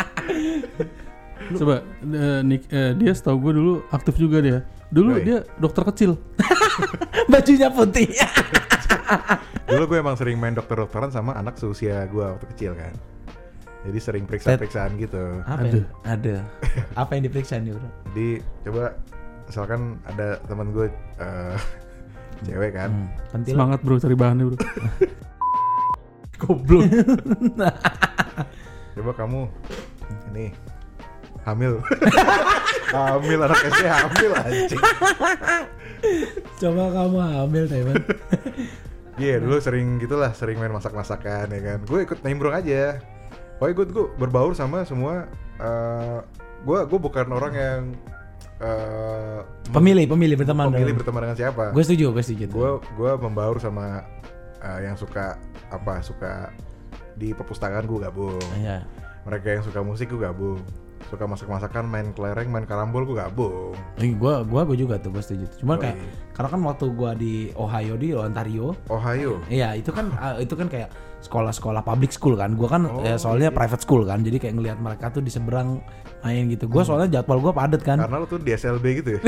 Coba dia setahu gue dulu aktif juga dia. Dulu dia dokter kecil. Bajunya putih. Dulu gue emang sering main dokter-dokteran sama anak seusia gue waktu kecil kan. Jadi sering periksa-periksaan gitu. Ada. Apa yang diperiksa nih bro? Jadi coba misalkan ada teman gue cewek kan. Semangat bro cari bahannya bro. Goblok. Coba kamu ini hamil. Hamil anak SD hamil anjing. Coba kamu hamil Taiwan. Iya dulu sering gitulah, sering main masak-masakan ya kan. Gue ikut nimbrung aja. Pokoknya gue berbaur sama semua. Gue bukan orang yang pemilih berteman dengan siapa. Gue setuju. Gue membaur sama yang suka di perpustakaan gue gabung. Iya. Mereka yang suka musik gue gabung. Suka masak-masakan, main kelereng, main karambol gue gabung. Gue juga tuh, gue setuju. Cuma kayak karena kan waktu gue di Ontario. Iya, itu kan kayak sekolah-sekolah public school kan. Gue kan soalnya private school kan. Jadi kayak ngelihat mereka tuh di seberang main gitu. Gue soalnya jadwal gue padet kan. Karena lu tuh di SLB gitu ya.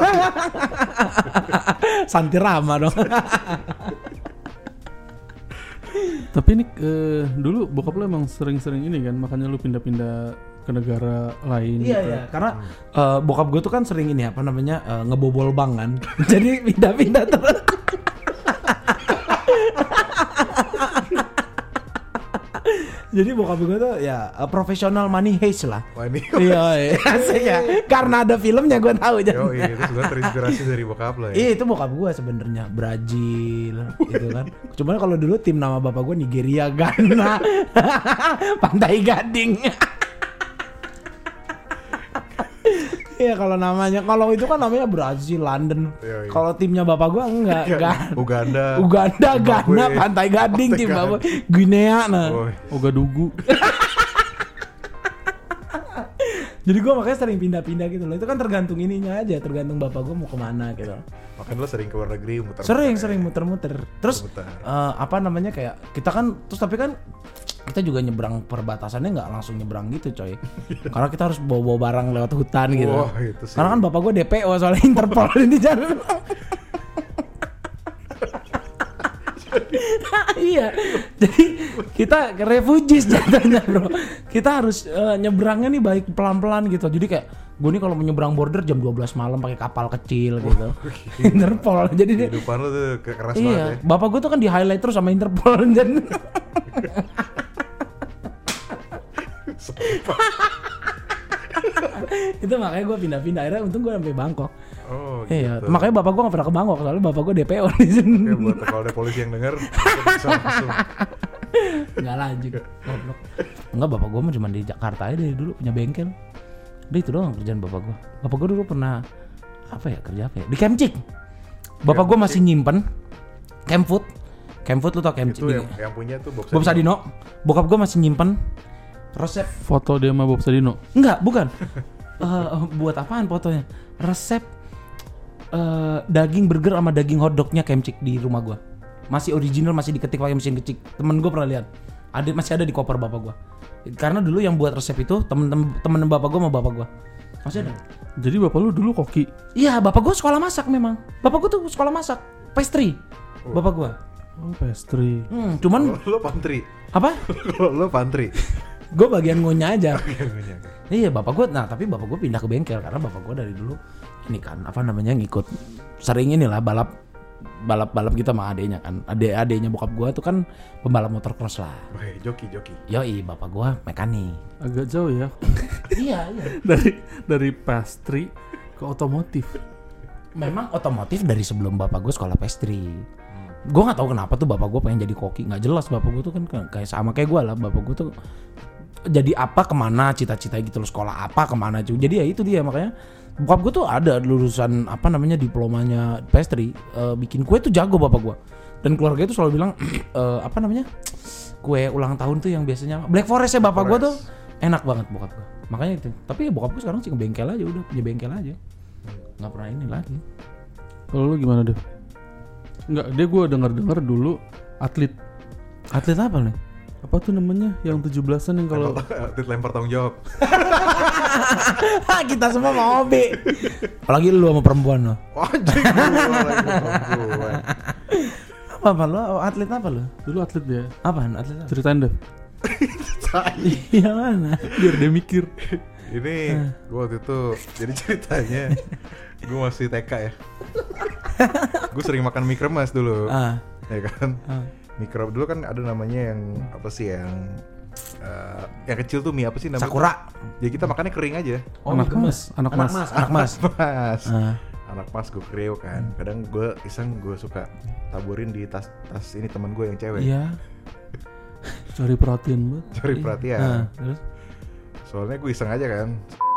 Santirama dong. Tapi ini dulu bokap lu emang sering-sering ini kan, makanya lu pindah-pindah ke negara lain. Iya, gitu. iya. Karena bokap gue tuh kan sering ini ngebobol bank kan. Jadi pindah-pindah terus. Jadi bokap gue tuh ya profesional money heist lah. Iya, asik ya. Karena ada filmnya gue tahu. Itu juga terinspirasi dari bokap lo ya. Iya, itu bokap gue sebenarnya Brazil gitu kan. Cuman kalau dulu tim nama bapak gue Nigeria, Ghana, Pantai Gading. Iya kalau itu kan namanya Brazil, London. Kalau timnya bapak gua enggak. Uganda, Ghana, Pantai Gading tim bapak. Guinea Ogadugu. Jadi gua makanya sering pindah-pindah gitu loh. Itu kan tergantung ininya aja, tergantung bapak gua mau kemana gitu. Makanya lo sering ke luar negeri muter-muter. Sering muter-muter. Terus kayak kita kan tapi kan kita juga nyebrang perbatasannya nggak langsung nyebrang gitu coy. Karena kita harus bawa barang lewat hutan gitu. Karena kan bapak gue DPO soalnya Interpol di jalan. Iya. Jadi kita refugees jatuhnya bro. Kita harus nyebrangnya nih baik pelan-pelan gitu. Jadi kayak gue nih kalau menyeberang border jam 12 malam pakai kapal kecil gitu. Interpol. Jadi kehidupan lu tuh keras banget ya. Bapak gue tuh kan di highlight terus sama Interpol. Itu makanya gue pindah-pindah, akhirnya untung gue sampai Bangkok. Iya, gitu. Makanya bapak gue gak pernah ke Bangkok soalnya bapak gue DPO di sini. Oke, buat kalau ada polisi yang denger bisa langsung. Enggak lanjut. Enggak, bapak gue mah cuma di Jakarta aja dari dulu punya bengkel. Udah itu doang kerjaan bapak gue. Bapak gue dulu pernah kerja apa ya? Di Kemcik. Bapak gue masih nyimpen Kemfood lu tau Kemcik? Itu yang punya tuh Bob Sadino. Bokap gue masih nyimpen resep foto dia sama Bob Sadino? Enggak, bukan. Buat apaan fotonya? Resep daging burger sama daging hotdognya Kemcik di rumah gua. Masih original, masih diketik pakai mesin ketik. Temen gua pernah lihat. Masih ada di koper bapak gua. Karena dulu yang buat resep itu temen bapak gua sama bapak gua. Masih ada. Jadi bapak lu dulu koki? Iya, bapak gua sekolah masak memang. Bapak gua tuh sekolah masak, pastry. Bapak gua. Oh, pastry. Cuman lo pantry. Apa? Lo pantry. Gue bagian ngunyah aja. Iya bapak gue, tapi bapak gue pindah ke bengkel karena bapak gue dari dulu ini kan ngikut sering inilah balap balap gitu sama adeknya kan. Adeknya bokap gue tuh kan pembalap motocross lah. Weh, joki. Yoi, bapak gue mekanik. Agak jauh ya. Iya. Dari pastry ke otomotif. Memang otomotif dari sebelum bapak gue sekolah pastry. Gue nggak tahu kenapa tuh bapak gue pengen jadi koki. Nggak jelas bapak gue tuh kan kayak sama kayak gue lah. Bapak gue tuh jadi apa kemana cita-cita gitu loh, sekolah apa kemana cuy. Jadi ya itu dia, makanya bokap gue tuh ada lulusan apa namanya diplomanya pastry, bikin kue tuh jago bapak gue. Dan keluarga itu selalu bilang apa namanya kue ulang tahun tuh yang biasanya Black Forest ya bapak gue tuh enak banget bokap gue. Makanya itu. Tapi ya bokap gue sekarang sih ngebengkel aja, udah punya bengkel aja. Nggak pernah ini lagi. Kalau lu gimana deh? Enggak, dia gue dengar dulu atlet Apa nih? apa tuh namanya yang 17-an yang kalau Atlet lempar tanggung jawab. Kita semua mau hobi. Apalagi lu sama perempuan lo. Anjing gua lagi perempuan. Apa lo? Atlet apa lo? dulu atlet dia. Apaan atlet apa? Ceritain deh. Yang mana? Biar dia mikir. Ini gue waktu itu jadi ceritanya gue masih TK ya. Gue sering makan mie kremes dulu. Ya kan? Mie kremes dulu kan ada namanya yang apa sih yang kecil tuh mie apa sih namanya? Sakura. Jadi kita makannya kering aja. Anak mas. Anak mas gue kreo kan. Kadang gue iseng gue suka taburin di tas ini teman gue yang cewek. Iya. Cari perhatian banget. Cari perhatian. Terus? Soalnya gue iseng aja kan.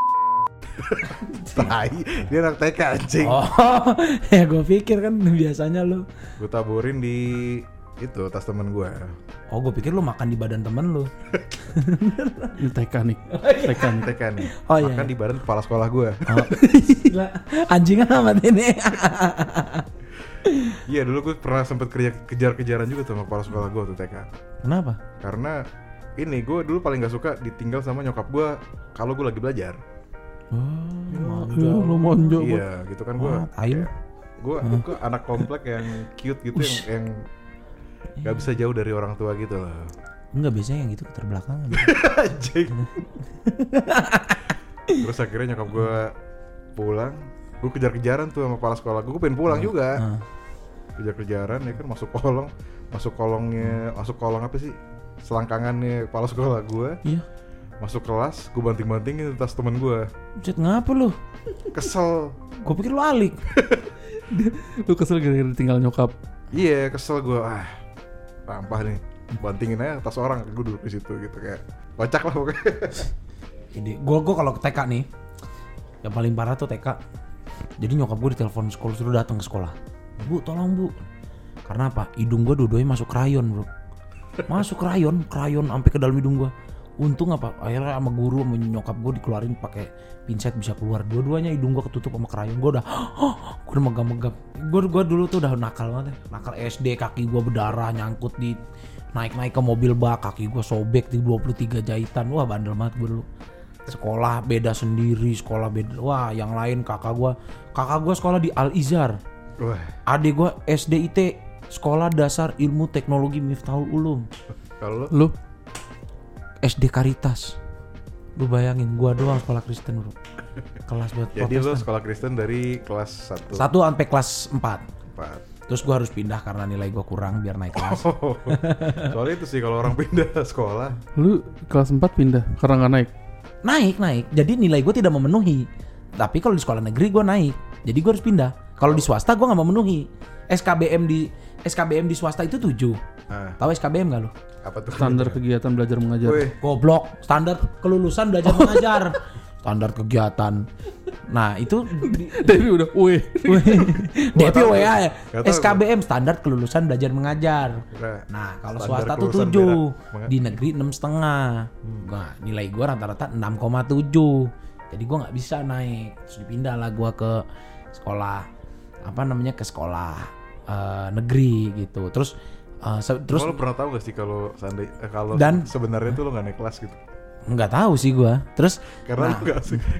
Tai, dia anak TK anjing. Oh, ya gue pikir kan biasanya lu. Gue taburin di itu tas temen gue. Oh, gue pikir lu makan di badan temen lu. Ini TK nih. TK nih. Oh, iya. Makan di badan kepala sekolah gue. Oh. Gila, anjing amat ini. Iya, dulu gue pernah sempet kejar-kejaran juga sama kepala sekolah gue tuh TK. Kenapa? Karena ini gue dulu paling gak suka ditinggal sama nyokap gue kalau gue lagi belajar. Lu monjo. Iya, gitu kan gue. Gue anak komplek yang cute gitu, yang gak bisa jauh dari orang tua gitu loh. Enggak, biasanya yang gitu keterbelakangan. Anjing. Terus akhirnya nyokap gue pulang, gue kejar-kejaran tuh sama kepala sekolah gue pengen pulang juga. Kejar-kejaran ya kan, masuk kolong apa sih, selangkangannya kepala sekolah gue. Iya. Masuk kelas, gue banting-bantingin tas temen gue. Buset, ngapa lu? Kesel. Gue pikir lu alik. Lu kesel gara-gara ditinggal nyokap. Iya, kesel gue. Sampah nih. Bantingin aja tas orang, gue duduk di situ gitu kayak kocak lah pokoknya. Jadi gue kalau ke TK nih, yang paling parah tuh TK. Jadi nyokap gue ditelepon sekolah suruh datang ke sekolah. Bu, tolong bu. Karena apa? Hidung gue dua-duanya masuk krayon bro. Masuk krayon sampai ke dalam hidung gue. Untung apa? Akhirnya sama guru sama nyokap gue dikeluarin pakai pinset bisa keluar. Dua-duanya hidung gue ketutup sama krayon. Gue udah megap-megap. Gue dulu tuh udah nakal banget ya. Nakal SD, kaki gue berdarah nyangkut di naik ke mobil bak, kaki gue sobek di 23 jahitan. Wah, bandel banget gue dulu. Sekolah beda sendiri, sekolah beda. Wah, yang lain kakak gue sekolah di Al Izhar. Adik gue SDIT, Sekolah Dasar Ilmu Teknologi Miftahul Ulum. Kalau lu SD Caritas. Lu bayangin, gua doang sekolah Kristen bro. Kelas buat jadi Protestan. lu sekolah Kristen dari kelas 1 sampai kelas 4. 4. Terus gua harus pindah karena nilai gua kurang biar naik kelas. Soalnya itu sih kalau orang pindah sekolah. Lu kelas 4 pindah karena gak naik? Naik. Jadi nilai gua tidak memenuhi. Tapi kalau di sekolah negeri gua naik. Jadi gua harus pindah. Kalau di swasta gua gak memenuhi. SKBM di swasta itu 7. Tahu SKBM gak lu? Apa tuh? Standar kegiatan belajar mengajar. Goblok, standar kelulusan belajar mengajar. Standar kegiatan. Nah, itu Devi udah DP WA ya. SKBM standar kelulusan belajar mengajar. Nah, kalau swasta tuh 7, di negeri 6,5. Nah, nilai gua rata-rata 6,7. Jadi gua nggak bisa naik. Terus dipindah lah gua ke sekolah ke sekolah negeri gitu. Terus lo pernah tahu gak sih kalau sebenarnya tuh lo nggak naik kelas gitu? Nggak tahu sih gue. Terus karena lo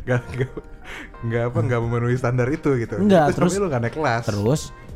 nggak memenuhi standar itu gitu. Enggak, terus lo nggak naik kelas. Terus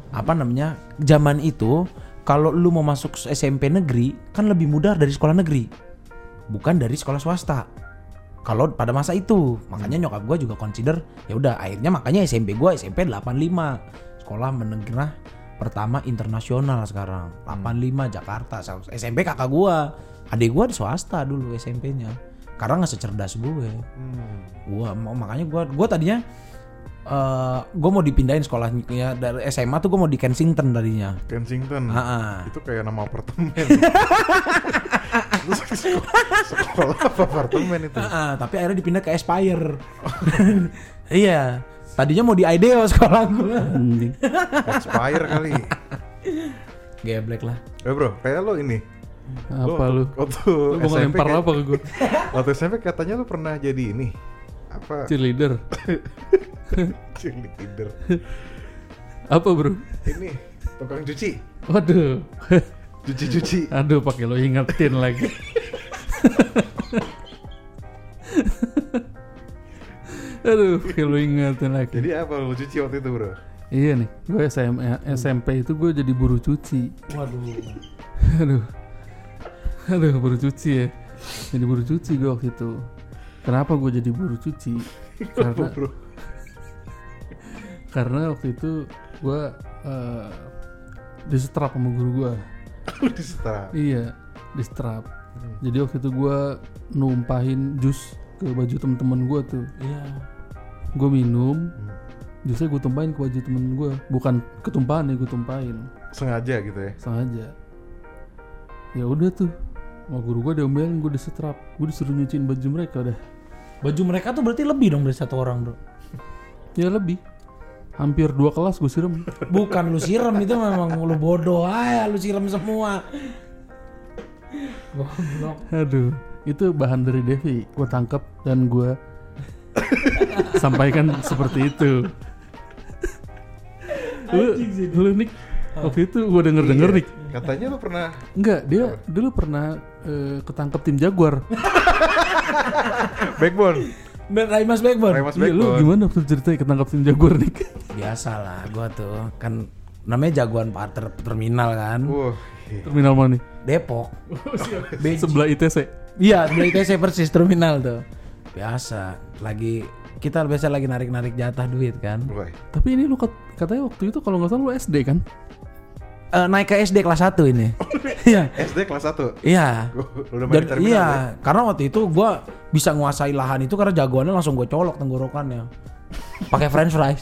zaman itu kalau lu mau masuk SMP negeri kan lebih mudah dari sekolah negeri, bukan dari sekolah swasta. Kalau pada masa itu, makanya nyokap gue juga consider ya udah akhirnya makanya SMP gue SMP 85 sekolah menengah pertama internasional sekarang 85 Jakarta. SMP kakak gua, adik gua di swasta dulu SMP-nya karena nggak secerdas gue. Makanya gua tadinya gue mau dipindahin sekolahnya dari SMA tuh gue mau di Kensington tadinya. Kensington. Itu kayak nama apartemen. Sekolah apa apartemen itu? Tapi akhirnya dipindah ke Aspire. Iya. Tadinya mau di IDEO sekolah gue. Aspire kali. Geblek lah. Bro, kayak lo ini. Apa lu? Waktu mau ngelempar apa ke gue? Waktu SMP katanya lo pernah jadi ini. Apa? Cheerleader. Cheerleader. Apa bro? Ini tukang cuci. Waduh. Cuci-cuci. Aduh, pakai lo ingetin lagi. Aduh, pakai lo ingetin lagi. Jadi apa lo cuci waktu itu bro? Iya nih, gue SMP itu gue jadi buruh cuci. Waduh. Aduh, buruh cuci ya. Jadi buruh cuci gue waktu itu. Kenapa gue jadi buruh cuci? Karena waktu itu gue disetrap sama guru gue. Disetrap? Iya, disetrap. Jadi waktu itu gue numpahin jus ke baju temen-temen gue tuh. Iya. Gue minum, jusnya gue tumpahin ke baju temen gue. Bukan ketumpahan ya, gue tumpahin. Sengaja gitu ya? Sengaja. Ya udah tuh, sama guru gue diomelin, gue disetrap. Gue disuruh nyuciin baju mereka dah. Baju mereka tuh berarti lebih dong dari satu orang bro? Ya lebih. Hampir 2 kelas gue siram. Bukan lu siram, itu memang lu bodoh aja, lu siram semua. Goblok. Aduh, itu bahan dari Devi. Gue tangkap dan gue sampaikan seperti itu. Lu Nick, waktu itu gue denger Nick. Katanya lu pernah. Enggak, dia dulu pernah ketangkep tim Jaguar. Backbone. Raimas Backbone. Iya, lu gimana waktu ceritanya ketangkep tim Jaguar Nick? Biasalah, gue tuh kan namanya jagoan partner terminal kan. Terminal mana nih? Depok. Sebelah ITC. Iya, sebelah ITC persis terminal tuh. Biasa, kita biasa lagi narik jatah duit kan. Tapi ini lu katanya waktu itu kalau nggak salah lu SD kan? Naik ke SD kelas 1 ini. Iya. SD kelas 1? Iya. Udah main di terminal. Iya, karena waktu itu gue bisa nguasai lahan itu karena jagoannya langsung gue colok tenggorokannya. Pakai french fries.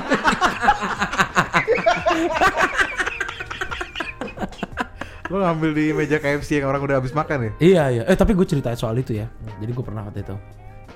Lo ngambil di meja KFC yang orang udah habis makan ya? Iya. Tapi gue ceritain soal itu ya. Jadi gue pernah waktu itu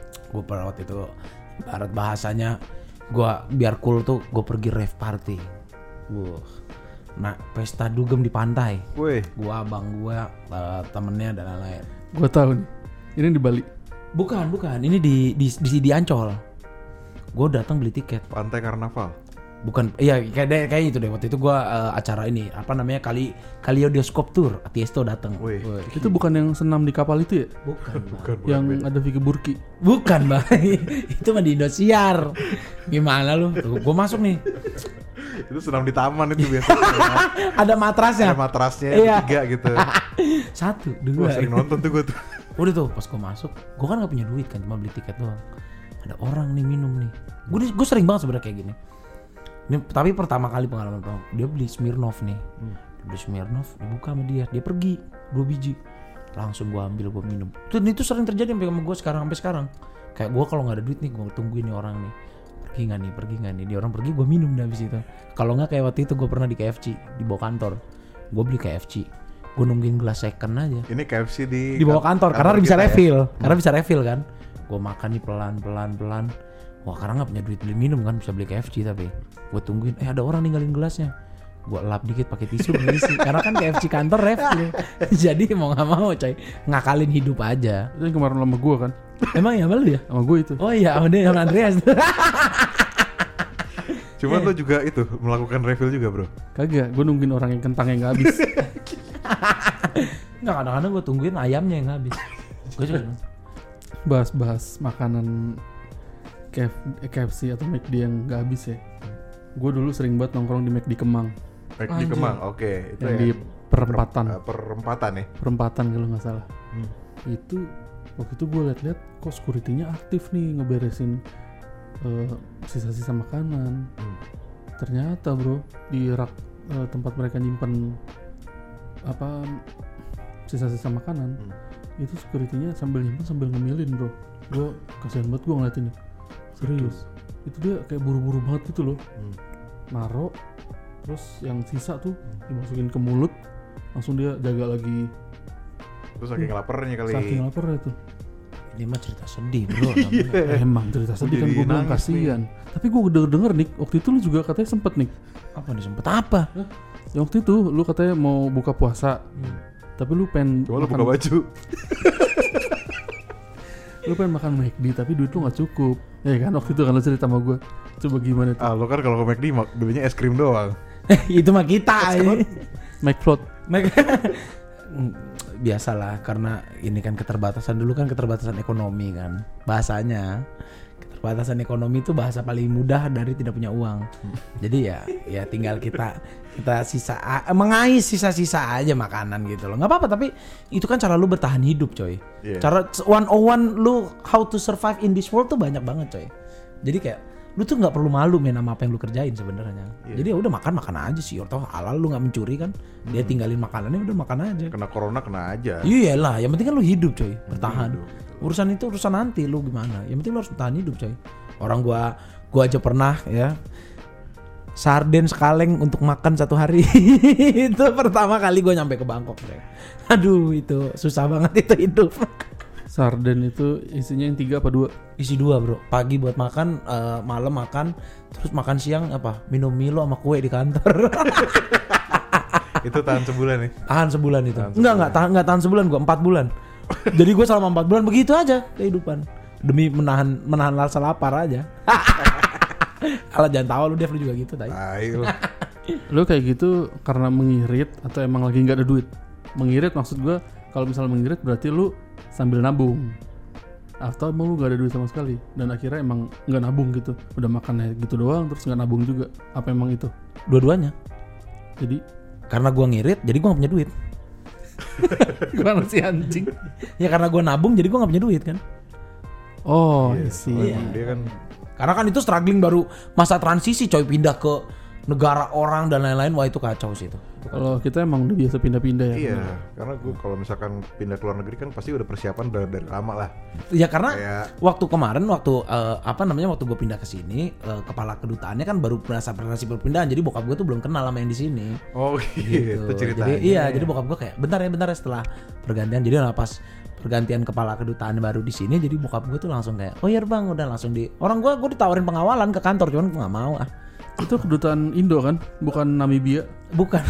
ibarat bahasanya gue biar cool tuh gue pergi rave party. Nah, pesta dugem di pantai. Gua, abang gua, temennya dan lain-lain. Gua tahu nih. Ini di Bali. Bukan. Ini di Ancol. Gua datang beli tiket. Pantai Karnaval. Bukan. Iya, kayak itu deh. Waktu itu gua acara ini, apa namanya? Kaleidoscope Tour. Tiesto datang. Itu bukan yang senam di kapal itu ya? Bukan. Yang ada Vicky Burki. Bukan, Bang. Itu mah di Indosiar. Gimana lu? Gua masuk nih. Itu senam di taman itu biasanya. Ada matrasnya. Ada matrasnya, iya. 3 gitu. 1, 2. Wah, sering nonton tuh gue tuh. Udah tuh pas gue masuk, gue kan gak punya duit kan, cuma beli tiket doang. Ada orang nih minum nih. Gue sering banget sebenarnya kayak gini. Ini, tapi pertama kali pengalaman dia beli Smirnoff nih. Beli Smirnoff, dibuka sama dia pergi 2 biji. Langsung gue ambil, gue minum. Itu sering terjadi sama gue sampai sekarang. Kayak gue kalau nggak ada duit nih, gue tungguin nih orang nih. Pergi nggak nih, dia orang pergi, gue minum dah habis itu. Kalau nggak kayak waktu itu gue pernah di KFC di bawah kantor, gue beli KFC, gue nungguin gelas second aja. Ini KFC di bawah kantor karena bisa refill, karena bisa refill kan. Gue makan nih pelan. Wah, karena nggak punya duit beli minum kan, bisa beli KFC tapi gue tungguin, ada orang ninggalin gelasnya. Gue lap dikit pakai tisu berisi, karena kan KFC kantor refill. Jadi mau nggak mau coy, ngakalin hidup aja. Itu yang kemarin sama gue kan. Emang ya malu ya? Sama gue itu. Oh iya, sama dia sama Andreas. Cuman lo juga itu melakukan refill juga bro? Kagak, gue nungguin orang yang kentangnya nggak habis. Nggak, kadang-kadang gue tungguin ayamnya yang nggak habis. Gue juga bahas makanan KFC atau McD yang nggak habis ya. Gue dulu sering banget nongkrong di McD Kemang. McD Kemang, oke. Itu yang di perempatan. Perempatan ya? Perempatan kalau nggak salah. Itu waktu itu gue liat-liat kok security-nya aktif nih ngeberesin sisa-sisa makanan. Ternyata bro, di rak tempat mereka nyimpen apa sisa-sisa makanan. Itu security-nya sambil nyimpen sambil ngemilin bro. Gue kasihan banget gue ngeliatin. Serius. Itu dia kayak buru-buru banget gitu loh. Naro, terus yang sisa tuh dimasukin ke mulut, langsung dia jaga lagi. Terus saking laparnya kali. Saking laparnya tuh. Ini mah cerita sedih bro namanya. Emang cerita sedih kan, gue bilang kasihan. Tapi gue denger nih, waktu itu lu juga katanya sempet nih. Apa nih sempet apa? Ya waktu itu lu katanya mau buka puasa, tapi lu pengen Cuma lu buka baju. Lu pengen makan McD tapi duit lu gak cukup. Ya kan waktu itu kan lu cerita sama gue. Coba gimana tuh? Lo kan kalau ke McD belinya es krim doang. Itu mah kita ini. McFloat. Biasalah karena ini kan keterbatasan, dulu kan keterbatasan ekonomi kan bahasanya. Keterbatasan ekonomi itu bahasa paling mudah dari tidak punya uang. Jadi ya tinggal kita mengais sisa-sisa aja makanan gitu loh. Nggak apa-apa, tapi itu kan cara lu bertahan hidup coy. Cara 101 lu how to survive in this world tuh banyak banget coy. Jadi kayak lu tuh nggak perlu malu main sama apa yang lu kerjain sebenarnya. Jadi ya udah makan aja sih. Atau halal, lu nggak mencuri kan. Dia tinggalin makanannya, udah makan aja. Kena corona kena aja. Iyalah, yang penting kan lu hidup coy, bertahan. Urusan itu urusan nanti lu gimana. Yang penting lu harus bertahan hidup coy. Orang gua aja pernah ya sarden sekaleng untuk makan 1 hari. Itu pertama kali gua nyampe ke Bangkok coy. Aduh itu susah banget itu hidup. Sarden itu isinya yang 3 apa 2? Isi 2 bro. Pagi buat makan, malam makan, terus makan siang apa? Minum Milo sama kue di kantor. Itu tahan sebulan nih. Tahan sebulan itu. Enggak tahan sebulan, gua 4 bulan. Jadi gua selama 4 bulan begitu aja kehidupan. Demi menahan rasa lapar aja. Kalau jangan tahu lu Dev, lu juga gitu tadi. Ayo. Lu kayak gitu karena mengirit atau emang lagi nggak ada duit? Mengirit maksud gua, kalau misalnya mengirit berarti lu sambil nabung. Atau emang lu gak ada duit sama sekali dan akhirnya emang gak nabung gitu, udah makannya gitu doang terus gak nabung juga. Apa emang itu? Dua-duanya. Jadi karena gua ngirit jadi gua gak punya duit. gimana sih anjing? Ya karena gua nabung jadi gua gak punya duit kan. Oh isi. Dia kan Karena kan itu struggling baru masa transisi coy, pindah ke negara orang dan lain-lain. Wah itu kacau sih itu. Kalau kita emang udah biasa pindah-pindah ya. Iya, karena gue kalau misalkan pindah ke luar negeri kan pasti udah persiapan dari lama lah. Ya karena waktu kemarin waktu gue pindah ke sini, kepala kedutaannya kan baru berasa perpindahan, jadi bokap gue tuh belum kenal sama yang di sini. Oh gitu ceritanya. Jadi bokap gue kayak bentar ya setelah pergantian, jadi pas pergantian kepala kedutaan baru di sini, jadi bokap gue tuh langsung kayak, oh iya bang, udah langsung gue ditawarin pengawalan ke kantor, cuman gue nggak mau ah. Itu kedutaan Indo kan, bukan Namibia. Bukan.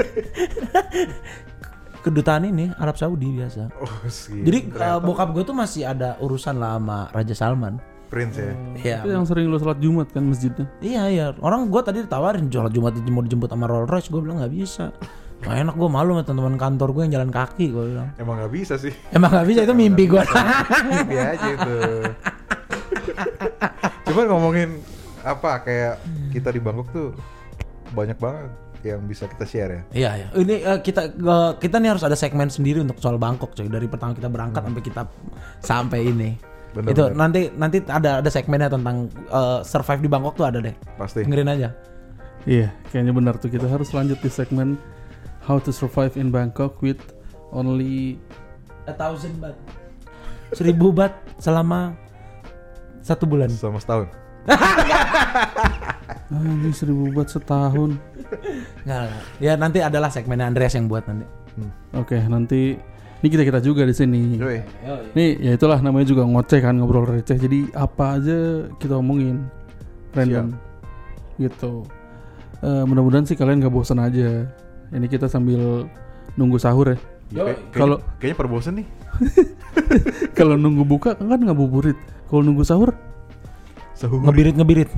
Kedutaan ini Arab Saudi biasa. Oh, jadi bokap gue tuh masih ada urusan lah sama Raja Salman. Prince ya. Iya. Itu yang sering lo sholat Jumat kan masjidnya. Iya. Orang gue tadi ditawarin sholat Jumat mau dijemput sama Rolls Royce, gue bilang nggak bisa. Nah, enak, gue malu sama teman-teman kantor gue yang jalan kaki, gue bilang. Emang nggak bisa sih. Emang nggak bisa, itu mimpi gue. Mimpi aja itu. Cuman ngomongin apa kayak kita di Bangkok tuh banyak banget yang bisa kita share ya. Iya. Ini kita nih harus ada segmen sendiri untuk soal Bangkok coy. Dari pertama kita berangkat sampai ini. Bener, itu bener. Nanti ada segmennya tentang survive di Bangkok tuh ada deh. Pasti. Dengerin aja. Iya, kayaknya benar tuh. Kita harus lanjut di segmen How to Survive in Bangkok with only 1,000 baht. 1,000 baht selama 1 bulan. Selama setahun. Ini 1,000 baht setahun. Nggak. Ya nanti adalah segmennya Andreas yang buat nanti. Oke, nanti ini kita juga di sini. Yoi. Nih, ya itulah namanya juga ngoceh kan, ngobrol receh. Jadi apa aja kita omongin random. Gitu. Mudah-mudahan sih kalian gak bosan aja. Ini kita sambil nunggu sahur ya. Kalau kayaknya perbosan nih. Kalau nunggu buka kan ngabuburit. Kalau nunggu sahur ngebirit.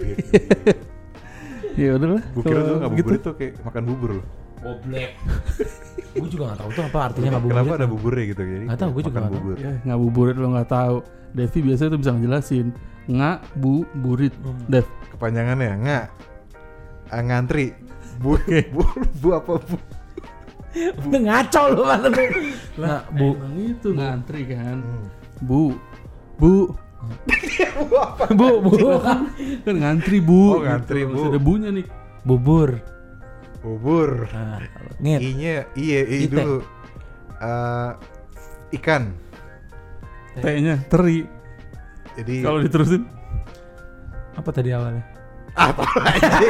Ya udahlah. Gue kira tuh ngabuburit tuh kayak makan bubur loh. Goblek. Gue juga nggak tahu tuh apa artinya ngabuburit. Kenapa ada buburnya gitu jadi? Nggak tahu, gue juga nggak tahu. Ya, ngabuburit lo nggak tahu. Devi biasanya tuh bisa ngejelasin. Ngabuburit. Dev. Kepanjangannya ngantri. Bu apa bu? Udah ngaco lu mana lu. Nah, bu itu ngantri kan. Bu. Bu kan ngantri bu. Oh ngantri gitu. bu. Ada bunya nih. Bubur. Bubur. Ngit. I-nya i Ite. dulu. Ikan. T-nya teri. Jadi Kalau diterusin Apa tadi awalnya? apa lagi?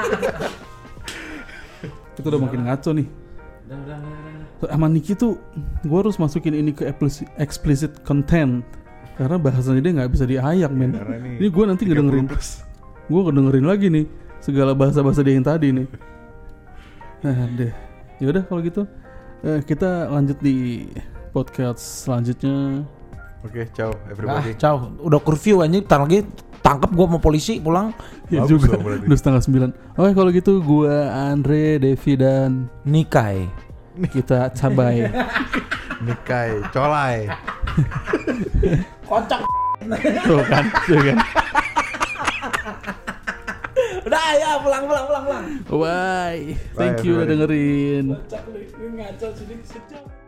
kita udah makin ngaco nih. Sama Niki tuh gue harus masukin ini ke explicit content karena bahasanya dia nggak bisa diayak men. Karena Ini gue nanti 30 ngedengerin, plus. gue ngedengerin lagi nih segala bahasa-bahasa dia yang tadi nih. Nah deh, yaudah kalau gitu kita lanjut di podcast selanjutnya. Oke, ciao Ah, everybody. ciao. Udah curfew anjing, tar lagi tangkap gua sama polisi pulang. Ya Bagus juga, dong berarti. udah 8:30. Oke kalau gitu gue Andre, Devi dan Nikai. kita cabai. Nikai, colai. Kocok. Tuh kan. Udah ya, pulang. Bye. Bye, Thank you udah everybody. dengerin. Kocok lu, ngaco sini.